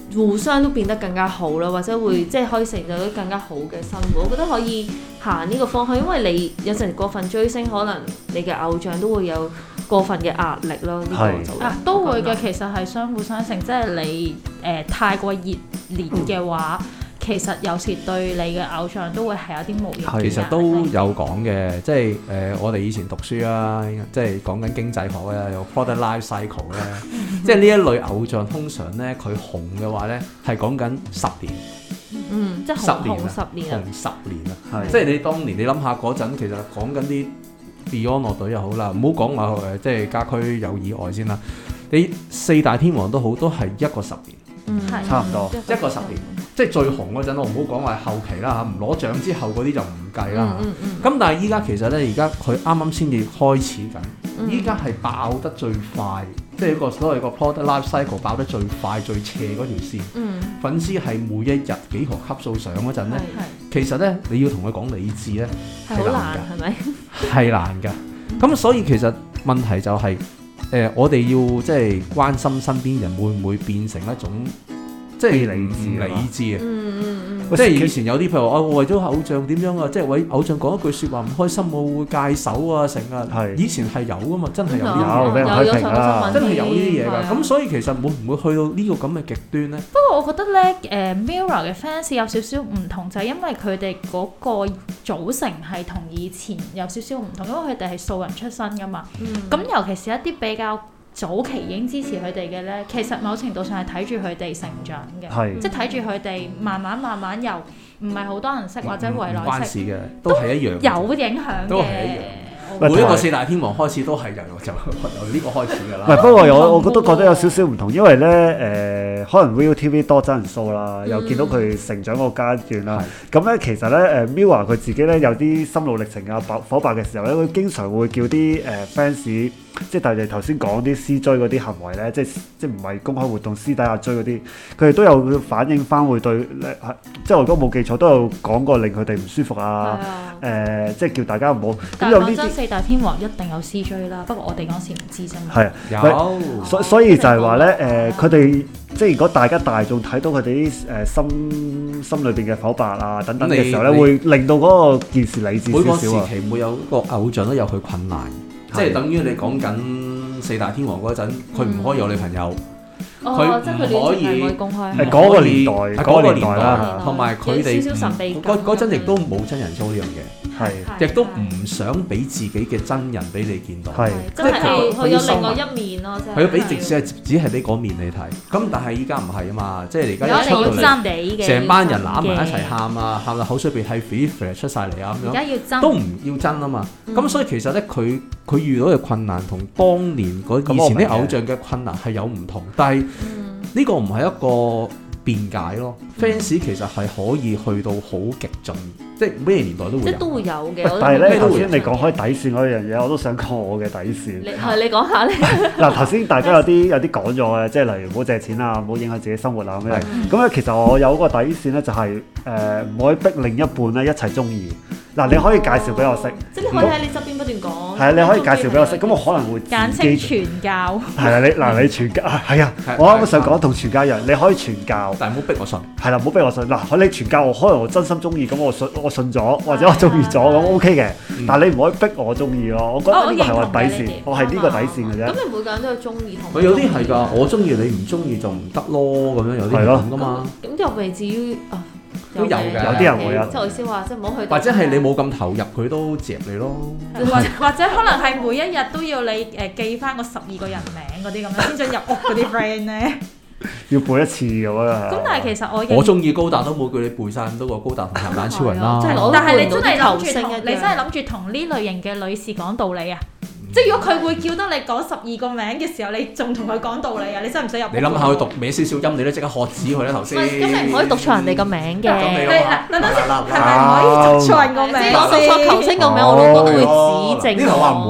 互相都變得更加好啦，或者會即係可以成就到更加好嘅生活。我覺得可以行呢個方向，因為你有陣時過分追星，可能你嘅偶像都會有過分嘅壓力咯。呢個就都會嘅，其實係相輔相成，即係你太過熱烈嘅話。其實有時對你嘅偶像都會係有啲無形。 其實都有講嘅，即係我哋以前讀書啦，即係講緊經濟學咧，有 product life cycle 咧，即係呢一類偶像通常咧佢紅嘅話咧係講緊10年， 即係紅10年啊， 紅10年啊，即係你當年你諗下嗰陣，其實講緊啲 Beyond 樂隊又好啦，唔好講話即係家駒有意外先啦，你4大天王都好，都係一個10年， 差唔多一個10年。即係最紅嗰陣，我唔好講話後期啦嚇，唔攞獎之後嗰啲就唔計啦。咁但係依家其實咧，而家佢啱啱先至開始緊，依家係爆得最快，即係一個所謂個 product life cycle 爆得最快最斜嗰條線。粉絲係每一日幾何級數上嗰陣咧，其實咧你要同佢講理智咧係難㗎， 係咪？ 係難㗎。咁所以其實問題就係我哋要即係關心身邊人會唔會變成一種。即係理智啊！即係以前有啲譬如話，我為咗偶像點樣啊？即係為偶像講一句説話唔開心，我會戒手啊成啊！以前係有噶嘛，真係有啲俾人批評啦， 真係有呢啲嘢㗎。咁所以其實會唔會去到呢個咁嘅極端咧？ 不過我覺得咧，Mirror 嘅 fans 有少少唔同，就係因為佢哋嗰個組成係同以前有少少唔同，因為佢哋係素人出身㗎嘛。咁尤其是一啲比較早期已經支持佢哋嘅咧，其實某程度上係睇住佢哋成長嘅，即係睇住佢哋慢慢由唔係好多人識或者圍內識， 關事嘅，都係一樣， 有影響嘅。 每一個4大天王開始都係由呢個開始㗎啦。 唔係，不過我都覺得有少少唔同，因為咧可能 ViuTV 多真人 show 啦，又見到佢成長個階段啦。咁咧其實咧Mirror 佢自己咧有啲心路歷程啊、火爆嘅時候咧，佢經常會叫啲fans。即係但係頭先講啲私追嗰啲行為咧，即係唔係公開活動私底下追嗰啲，佢哋都有反映翻會對即係我如果冇記錯都有講過令佢哋唔舒服啊。即係叫大家唔好。 但係講真，4大天王一定有私追啦，不過我哋嗰時唔知啫嘛。 係有，所以就係話咧佢哋即係如果大眾睇到佢哋啲心裏邊嘅剖白啊等等嘅時候咧，會令到嗰個件事理智少少啊。 每個時期每有個偶像都有佢困難。即係等於你講緊4大天王嗰陣，佢唔可以有女朋友，佢唔可以公開。 係嗰個年代啦， 同埋佢哋嗰陣亦都冇真人 show 呢樣嘢，亦都唔想俾自己嘅真人俾你見到， 即係佢有另外一面咯，即係。 佢要俾只係俾嗰面你睇，咁但係依家唔係啊嘛，即係而家一出到嚟，成班人攬埋一齊喊啊，喊到口水鼻涕飛出晒嚟啊咁樣， 而家要真都唔要真啊嘛，咁所以其實咧佢遇到嘅困難同當年以前啲偶像嘅困難係有唔同，但係呢個唔係一個辯解咯。fans 其實係可以去到好極盡，即係咩年代都會有， 即係都會有嘅。 但係咧頭先你講開底線嗰樣嘢，我都想講我嘅底線。 你講下咧。嗱頭先大家有啲講咗嘅，即係例如唔好借錢啊，唔好影響自己生活啊咁樣。咁咧其實我有個底線咧，就係唔可以逼另一半咧一齊中意。嗱，你可以介紹俾我識， 即係你可以喺你側邊不斷講。 係啊，你可以介紹俾我識，咁我可能會簡稱傳教。 係啊，你傳教係啊，我啱啱想講同傳教一樣，你可以傳教， 但係唔好逼我信。 係啦，唔好逼我信。嗱，你傳教，可能我真心中意，咁我信咗，或者我中意咗，咁 OK 嘅。但係你唔可以逼我中意咯。我覺得呢個係我底線，我係呢個底線嘅啫。 咁你每個人都有中意同。 佢有啲係㗎，我中意你唔中意就唔得咯，咁樣有啲係咁㗎嘛。 咁又未至於都有嘅， 有啲人會啊。 即係我意思話，即係唔好去。 或者係你冇咁投入，佢都接你咯。 或者可能係每一日都要你記翻個12個人名嗰啲咁樣先進入屋嗰啲 friend 咧。 要背一次咁啊！ 咁但係其實我中意高達都冇叫你背晒咁多個高達同鹹蛋超人啦。 但係你真係諗住同呢類型嘅女士講道理啊？即係如果佢會叫得你講12個名嘅時候，你仲同佢講道理啊？你真係唔使入。 你諗下佢讀歪少少音，你都即刻喝止佢啦頭先。 咁你唔可以讀錯人哋個名嘅。 等先，係咪唔可以讀錯人個名？ 即係我讀錯球星個名，我老公會指正。 呢頭話唔會。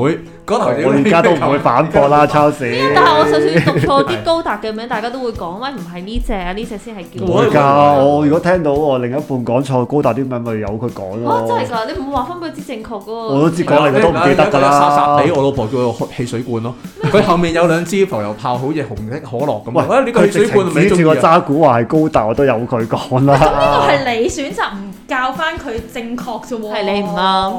我而家都唔會反駁啦，抄死。 但係我就算讀錯啲高達嘅名，大家都會講喂，唔係呢隻啊，呢隻先係叫。 唔會㗎，我如果聽到我另一半講錯高達啲名，咪由佢講咯。 真係㗎，你唔會話翻俾佢知正確嗰個。 我都知講嚟，佢都唔記得㗎啦。 沙沙地，我老婆叫佢汽水罐咯。佢後面有兩支浮油炮，好似紅色可樂咁。 喂， 呢個汽水罐咪指住個渣古話係高達，我都有佢講啦。 咁呢個係你選擇唔教翻佢正確啫喎。 係你唔啱。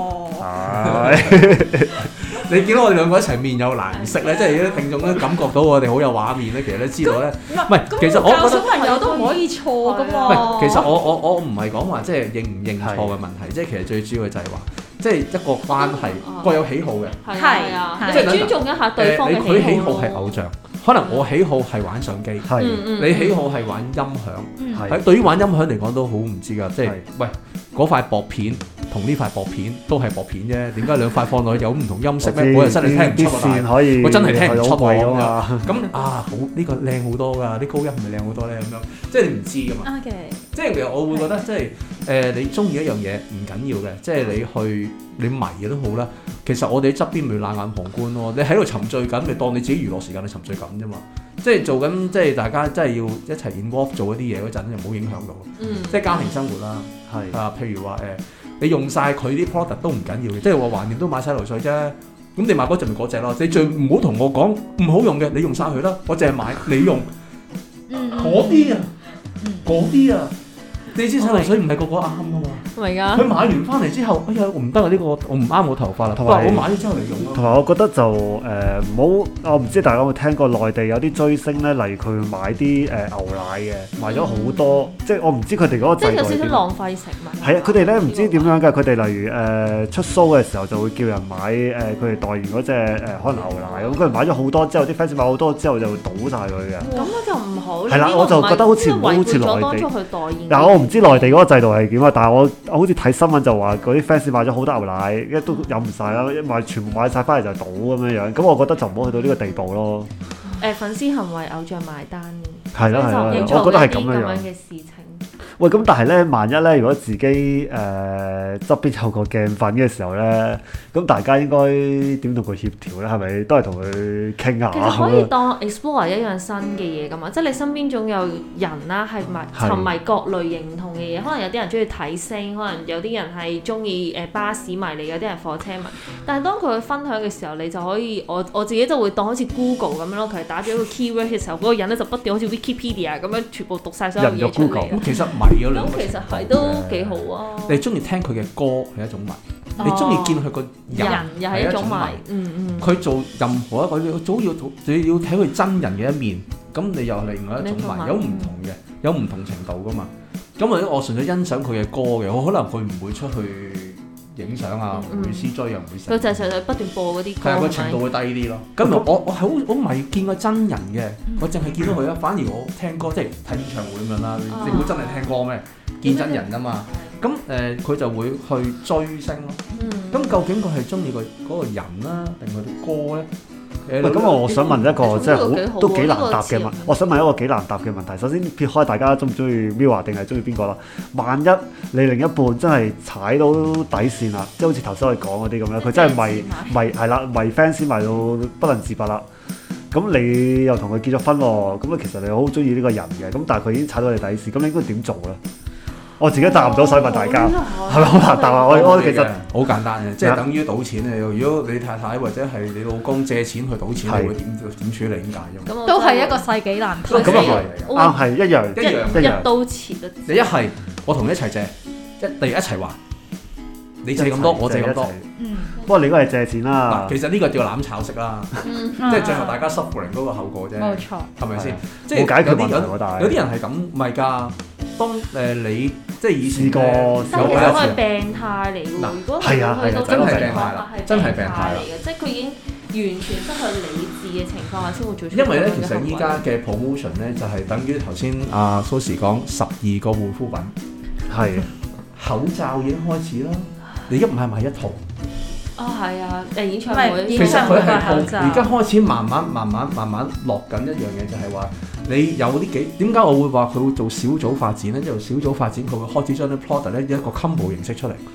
你見到我哋兩個一齊面有難色咧，即係啲聽眾都感覺到我哋好有畫面咧，其實都知道咧。唔係，其實我覺得小朋友都唔可以錯噶嘛。 唔係，其實我唔係講話即係認唔認錯嘅問題，即係其實最主要就係話，即係一個關係各有喜好嘅。 係啊，即係尊重一下對方嘅喜好。 佢喜好係偶像，可能我喜好係玩相機，你喜好係玩音響。喺對於玩音響嚟講都好唔知㗎，即係喂嗰塊薄片。同呢塊薄片都係薄片啫，點解兩塊放落去有唔同音色咩？我又真係聽唔出喎，我真係聽唔出喎咁好呢個靚好多㗎，啲高音係咪靚好多咧？咁樣即係你唔知㗎嘛。即係其實我會覺得即係你中意一樣嘢唔緊要嘅，即係你迷嘅都好啦。其實我哋喺側邊咪冷眼旁觀咯。你喺度沉醉緊，咪當你自己娛樂時間你沉醉緊啫嘛。即係做緊，即係大家真係要一齊 involve 做一啲嘢嗰陣，就唔好影響到。即係家庭生活啦，譬如話你用晒佢啲 product 都唔緊要嘅，即係話橫掂都買洗頭水啫。咁你買嗰隻咪嗰隻咯。你最唔好同我講唔好用嘅，你用晒佢啦。我淨係買你用嗰啲啊，嗰啲啊。你知洗頭水唔係個個啱噶嘛？佢買完翻嚟之後，哎呀我唔得啊！呢個我唔啱我頭髮啦。同埋我買咗之後嚟用咯。 同埋我覺得就唔好，我唔知大家有冇聽過內地有啲追星咧，例如佢買啲牛奶嘅，買咗好多，即係我唔知佢哋嗰個制度。 即係有少少浪費食物。 係啊，佢哋咧唔知點樣㗎，佢哋例如出 show 嘅時候就會叫人買佢哋代言嗰隻可能牛奶咁，佢哋買咗好多之後，啲 fans 買好多之後就會倒晒佢嘅。 咁就唔好。 係啦，我就覺得好似唔好似內地。嗱，我唔知內地嗰個制度係點啊，但係我好似睇新聞就話嗰啲 fans 買咗好多牛奶，一都飲唔晒啦，全部買晒翻嚟就倒咁樣樣，咁我覺得就唔好去到呢個地步咯。 粉絲行為偶像埋單嘅， 係啦，我覺得係咁樣嘅事情。 喂，咁但係咧，萬一咧，如果自己側邊有個鏡粉嘅時候咧，咁大家應該點同佢協調咧？係咪都係同佢傾下？ 其實可以當 explore 一樣新嘅嘢㗎嘛，即係你身邊總有人啦，係沉迷各類型唔同嘅嘢。可能有啲人中意睇星，可能有啲人係中意巴士迷嚟，有啲人火車迷。但係當佢去分享嘅時候，你就可以我自己就會當好似 Google 咁樣咯。佢打咗一個 keyword 嘅時候，嗰個人咧就不斷好似 Wikipedia 咁樣全部讀晒所有嘢出嚟。 咁其實有兩個其實係都幾好啊！ 你中意聽佢嘅歌係一種迷，你中意見佢個人又係一種迷。 佢做任何一個，你早要睇佢真人嘅一面，咁你又係另外一種迷，有唔同嘅，有唔同程度噶嘛。咁或者我純粹欣賞佢嘅歌嘅，我可能佢唔會出去影相啊，唔會 CJ 又唔會成。 佢就係不斷播嗰啲歌。 係個程度會低啲咯。咁我係好迷見過真人嘅，我淨係見到佢啦。反而我聽歌即係睇演唱會咁樣啦。你會真係聽歌咩？見真人啊嘛。咁佢就會去追星咯。咁究竟佢係中意嗰個人啦，定佢啲歌咧？ 咁我想問一個即係都幾難答嘅問，我想問一個幾難答嘅問題。首先撇開大家中唔中意 Mirror 定係中意邊個啦？萬一你另一半真係踩到底線啦，即係好似頭先我哋講嗰啲咁樣，佢真係迷係啦，迷 fans 迷到不能自拔啦。咁你又同佢結咗婚喎，咁其實你好中意呢個人嘅，咁但係佢已經踩到你底線，咁你應該點做咧？我自己答唔到，所以問大家係咪好難答啊？我其實好簡單嘅，即係等於賭錢啊！如果你太太或者係你老公借錢去賭錢，你會點處理？點解啫？ 都係一個世紀難題。 咁啊係，啱係一樣一刀切啊！ 你一係我同你一齊借，一齊還，你借咁多，我借咁多。 不過你應該係借錢啦。 其實呢個叫攬炒式啦，即係最後大家 suffering 嗰個後果啫。 冇錯， 係咪先？ 即係冇解決問題喎，但係有啲人係咁，唔係㗎。當你即係以前過有其實係病態嚟㗎喎。如果係去到真係病態啦，真係病態嚟嘅，即係佢已經完全失去理智嘅情況下先會做出。 因為咧，其實依家嘅 promotion 咧就係等於頭先阿 Sosze 講12個護膚品， 係口罩已經開始啦。你而家唔係買一套？ 係啊，演唱會其實佢係而家開始慢慢落緊一樣嘢，就係話你有啲點解我會話佢會做小組發展咧？即係小組發展，佢會開始將啲 product 咧一個 combo 形式出嚟。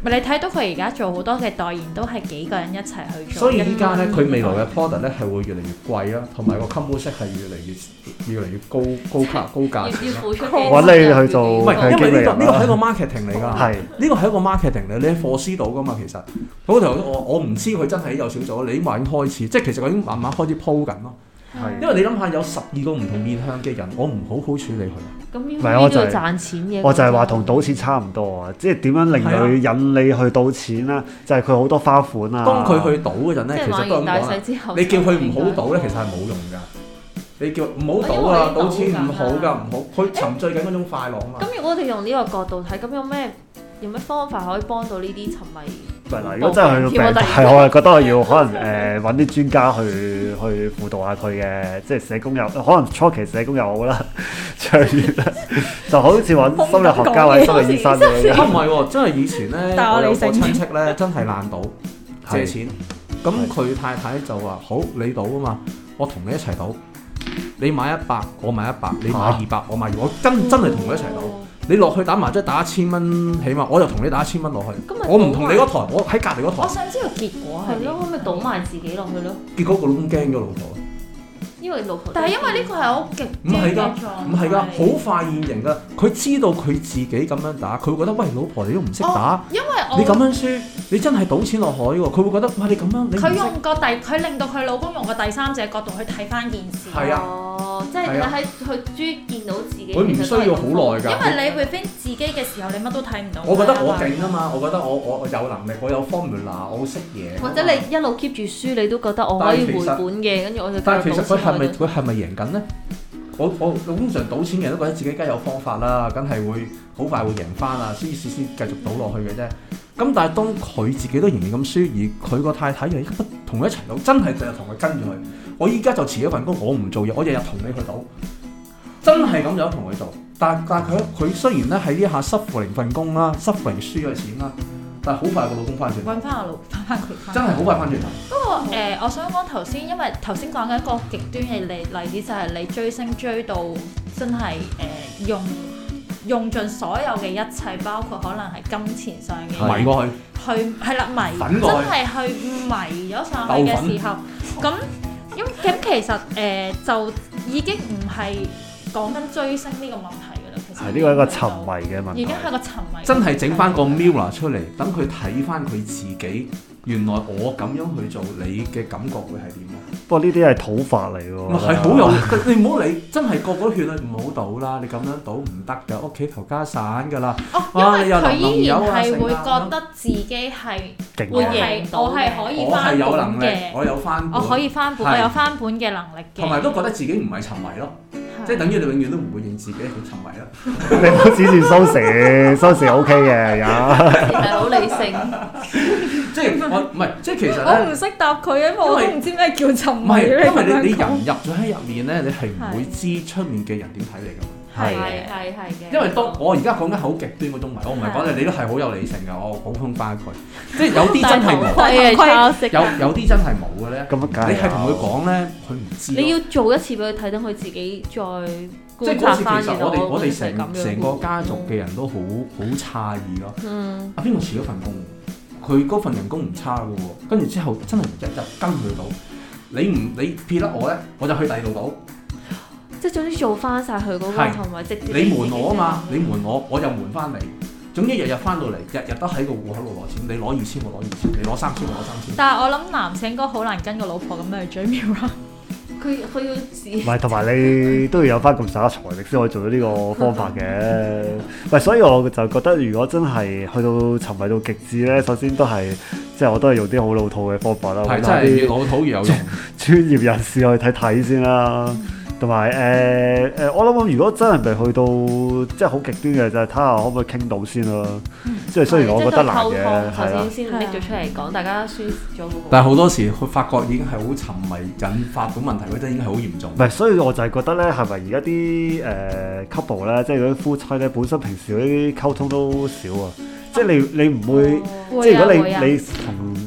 你睇到佢而家做好多嘅代言都係幾個人一齊去做。 所以依家咧佢未來嘅 product 咧係會越嚟越貴啦，同埋個 combo set 係越嚟越高價錢啦。 要付出揾你去做， 唔係，因為呢個係一個嘛。 marketing 嚟㗎。 係呢個係一個 marketing 嚟，你係 foresee 到㗎嘛？其實嗰頭我唔知佢真係有少咗，你話已經開始，即係其實佢已經慢慢開始鋪緊咯。 係因為你諗下有12個唔同面向嘅人，我唔好好處理佢。 咁唔係我就係賺錢嘅。 我就係話同賭錢差唔多啊！即係點樣令佢引你去賭錢啦？就係佢好多花款啊！ 當佢去賭嗰陣咧，其實都咁講啦。你叫佢唔好賭咧，其實係冇用㗎。你叫唔好賭啊！賭錢唔好㗎，唔好。佢沉醉緊嗰種快樂啊嘛。 咁如果我哋用呢個角度睇，咁有咩方法可以幫到呢啲沉迷？ 唔係嗱，如果真係去到病態，我係覺得我要可能揾啲專家去輔導下佢嘅，即係社工又可能初期社工又好啦，長遠啦，就好似揾心理學家或者心理醫生咁樣。 唔係喎，真係以前咧，我有個親戚咧，真係爛賭借錢，咁佢太太就話：好，你賭啊嘛，我同你一齊賭，你買100，我買100，你買200，我買200，我真係同佢一齊賭。你落去打麻雀打1000蚊起碼，我就同你打1000蚊落去。我唔同你嗰台，我喺隔離嗰台。 我想知道結果係咯，咁咪賭埋自己落去咯。 結果個老公驚咗老婆。 因為老婆， 但係因為呢個係好極唔係㗎，唔係㗎，好快現形㗎。佢知道佢自己咁樣打，佢會覺得喂，老婆你都唔識打， 因為你咁樣輸，你真係賭錢落海喎。佢會覺得哇，你咁樣你唔識。 佢令到佢老公用個第三者角度去睇翻件事。 係啊。 即係你喺佢終於見到自己。 佢唔需要好耐㗎。 因為你 within 自己嘅時候，你乜都睇唔到。 我覺得我勁啊嘛，我覺得我有能力，我有 formula，我識嘢。 或者你一路 keep 住輸，你都覺得我可以回本嘅，跟住我就。 但係其實佢係咪贏緊咧？我通常賭錢嘅人都覺得自己梗係有方法啦，梗係會好快會贏翻啊，先繼續賭落去嘅啫。咁但係當佢自己都仍然咁輸，而佢個太太又不同佢一齊賭，真係就同佢跟住佢。我依家就辭咗份工，我唔做嘢，我日日同你去賭，真係咁樣同佢做。但係佢雖然咧喺呢下失負零份工啦，失負零輸咗錢啦，但係好快個老公翻轉， 揾翻佢， 真係好快翻轉頭。 不過我想講頭先，因為頭先講緊一個極端嘅例子，就係你追星追到真係用盡所有嘅一切，包括可能係金錢上嘅迷過去係啦，迷真係去迷咗上去嘅時候，咁其實就已經唔係講緊追星呢個問題㗎啦。其實係呢個係一個沉迷嘅問題， 已經係個沉迷。 真係整翻個 mirror 出嚟，等佢睇翻佢自己。原來我咁樣去做，你嘅感覺會係點啊？ 不過呢啲係土法嚟喎。 係好有，你唔好理，真係個個都勸你唔好賭啦！你咁樣賭唔得㗎，屋企頭家散㗎啦。 因為佢依然係會覺得自己係會贏到，我係可以翻本嘅， 我有翻本， 我可以翻本，我有翻本嘅能力嘅。 同埋都覺得自己唔係沉迷咯，即係等於你永遠都唔會認自己好沉迷咯。 你唔好指住收視 OK 嘅，有係好理性。 即係我唔係，即係其實咧， 我唔識答佢，因為我都唔知咩叫沉迷。 唔係，因為你人入咗喺入面咧，你係唔會知出面嘅人點睇你㗎嘛。 係嘅。 因為當我而家講緊好極端嗰種迷，我唔係講你都係好有理性㗎，我補充翻佢。即係有啲真係冇，有啲真係冇嘅咧。 咁啊， 你係同佢講咧，佢唔知。 你要做一次俾佢睇，等佢自己再觀察翻。 即係嗰時其實我哋成個家族嘅人都好詫異咯。阿邊個辭咗份工？佢嗰份人工唔差嘅喎，跟住之後真係日日跟佢賭，你撇甩我咧，我就去第二度賭。 即係總之做翻晒佢嗰個，同埋直接你瞞我啊嘛，你瞞我，我就瞞翻你。總之日日翻到嚟，日日都喺個戶口度攞錢，你攞2000我攞2000，你攞3000我攞3000。 但係我諗男性應該好難跟個老婆咁樣去追 Mirror。 佢要試。 唔係，同埋你都要有翻咁上下財力先可以做到呢個方法嘅。唔係，所以我就覺得如果真係去到沉迷到極致咧，首先都係即係我都係用啲好老土嘅方法啦， 係真係越老土越有用。 專業人士去睇先啦。同埋我諗如果真係未去到即係好極端嘅，就係睇下可唔可以傾到先啦。即係雖然我覺得難嘅，係啦。 先拎咗出嚟講，大家輸咗嗰個。 但係好多時佢發覺已經係好沉迷，引發到問題嗰陣已經係好嚴重。 唔係，所以我就係覺得咧，係咪而家啲couple 咧，即係嗰啲夫妻咧，本身平時嗰啲溝通都少啊。即係你唔會，即係如果你同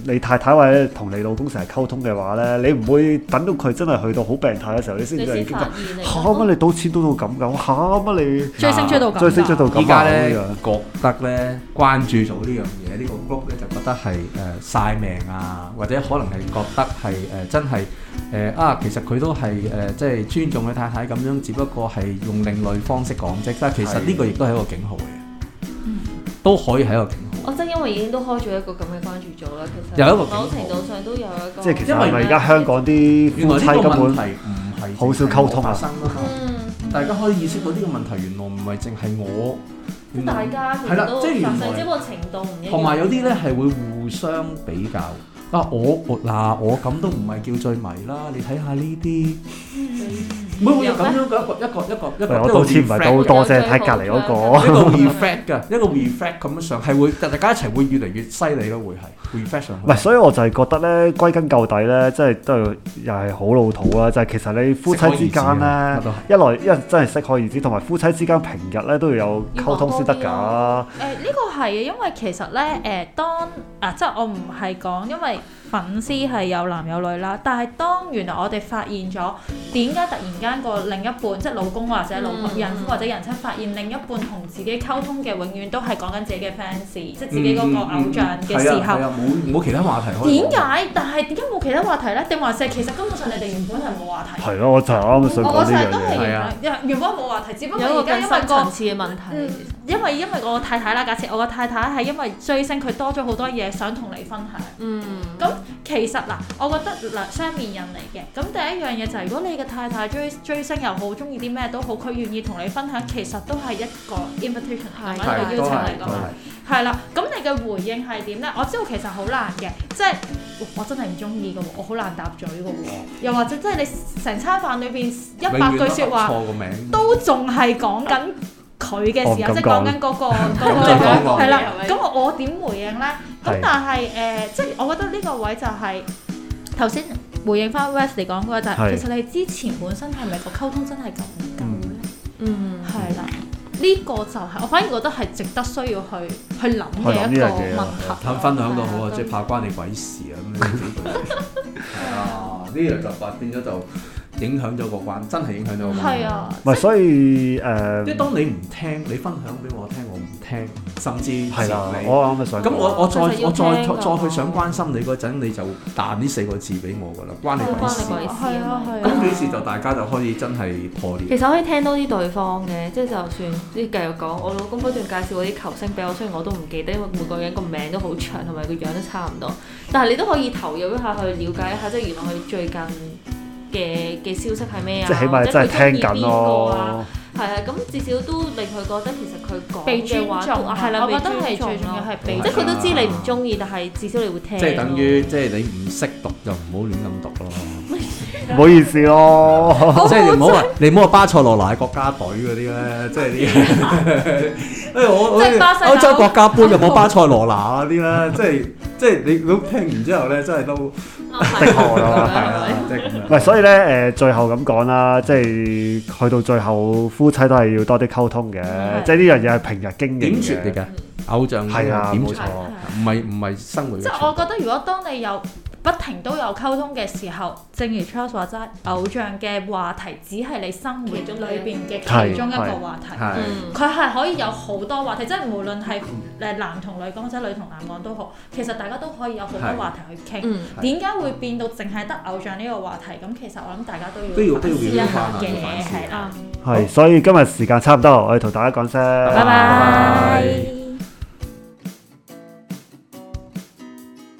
你太太或者同你老公成日溝通嘅話咧，你唔會等到佢真係去到好病態嘅時候，你先至已經嚇乜你賭錢賭到咁㗎，嚇乜你追星追到咁， 依家咧覺得咧關注咗呢樣嘢，呢個 group 咧就覺得係晒命啊，或者可能係覺得係真係其實佢都係即係尊重佢太太咁樣，只不過係用另類方式講啫。但係其實呢個亦都係一個警號嘅，都可以係一個警號。 我真因為已經都開咗一個咁嘅關注組啦，其實有一個某程度上都有一個。 即係其實係咪而家香港啲夫妻根本唔係好少溝通啊？ 大家可以意識到呢個問題原來唔係淨係我， 大家其實都發生，只不過程度唔一樣。 同埋有啲咧係會互相比較。我咁都唔係叫最迷啦，你睇下呢啲，唔會有咁樣嘅一個我賭錢唔係賭好多啫，睇隔離嗰個。 一個 reflect 嘅，一個 reflect 咁樣上係會，大家一齊會越嚟越犀利咯，會係 reflect 上去。 唔係，所以我就係覺得咧，歸根究底咧，即係都係又係好老土啦。就係其實你夫妻之間咧，一來真係適可而止，同埋夫妻之間平日咧都要有溝通先得㗎。 呢個係因為其實咧即係我唔係講因為粉絲係有男有女啦，但係當原來我哋發現咗點解突然間個另一半即係老公或者老婆人夫或者人妻發現另一半同自己溝通嘅永遠都係講緊自己嘅 fans，即係自己嗰個偶像嘅時候， 冇其他話題可以講。 點解？但係點解冇其他話題咧？定還是其實根本上你哋原本係冇話題？ 係咯，我就啱啱想講呢樣嘢。 係啊，原本冇話題，只不過有一個而家因為深層次嘅問題。 因為我太太啦，假設我個太太係因為追星，佢多咗好多嘢想同你分享。咁其實嗱，我覺得雙面人嚟嘅。咁第一樣嘢就係，如果你嘅太太追星又好，中意啲咩都好，佢願意同你分享，其實都係一個 invitation，係咪一個邀請嚟㗎嘛？係啦，咁你嘅回應係點咧？我知道其實好難嘅，即係我真係唔中意嘅喎，我好難答嘴嘅喎，又或者即係你成餐飯裏邊100句説話都仲係講緊佢嘅時候，即係講緊嗰個係啦。咁我點回應咧？咁但係即係我覺得呢個位就係頭先回應翻 Wesley 講嗰個就係，其實你之前本身係咪個溝通真係咁唔夠咧？係啦。呢個就係我反而覺得係值得需要去諗嘅一個問題。 分享到好啊，即係怕關你鬼事啊咁樣係啊，呢樣就變咗就影響咗個關，真係影響咗個關。係啊，唔係所以即係當你唔聽，你分享俾我聽，我唔聽，甚至係啦，我啱啱想咁我再去想關心你嗰陣，你就彈呢4個字俾我㗎啦，關你鬼事。 係啊。 咁幾時就大家就可以真係破裂。 其實可以聽多啲對方嘅，即係就算即係繼續講，我老公不斷介紹嗰啲球星俾我，雖然我都唔記得，因為每個人個名都好長，同埋個樣都差唔多，但係你都可以投入一下去了解一下，即係原來佢最近嘅消息係咩啊？ 即係起碼真係聽緊咯。 係啊，咁至少都令佢覺得其實佢講被尊重係啦， 我覺得係最重要係被， 即係佢都知你唔中意，但係至少你會聽。 即係等於即係你唔識讀就唔好亂咁讀咯。 唔好意思咯， 即係你唔好話巴塞羅那國家隊嗰啲咧，即係啲我歐洲國家杯就冇巴塞羅那嗰啲咧，即係你都聽完之後咧，真係都的確咯，係啊，即係咁樣。 唔係，所以咧最後咁講啦，即係去到最後夫妻都係要多啲溝通嘅，即係呢樣嘢係平日經營點説嚟嘅偶像係啊，冇錯， 唔係生活。 即係我覺得，如果當你有不停都有溝通嘅時候，正如 Charles 話齋，偶像嘅話題只係你生活中裏邊嘅其中一個話題，佢係可以有好多話題，即係無論係男同女講或者女同男講都好，其實大家都可以有好多話題去傾。點解會變到淨係得偶像呢個話題？咁其實我諗大家都要反思一下嘅，係啦。 係，所以今日時間差唔多，我哋同大家講聲， 拜拜。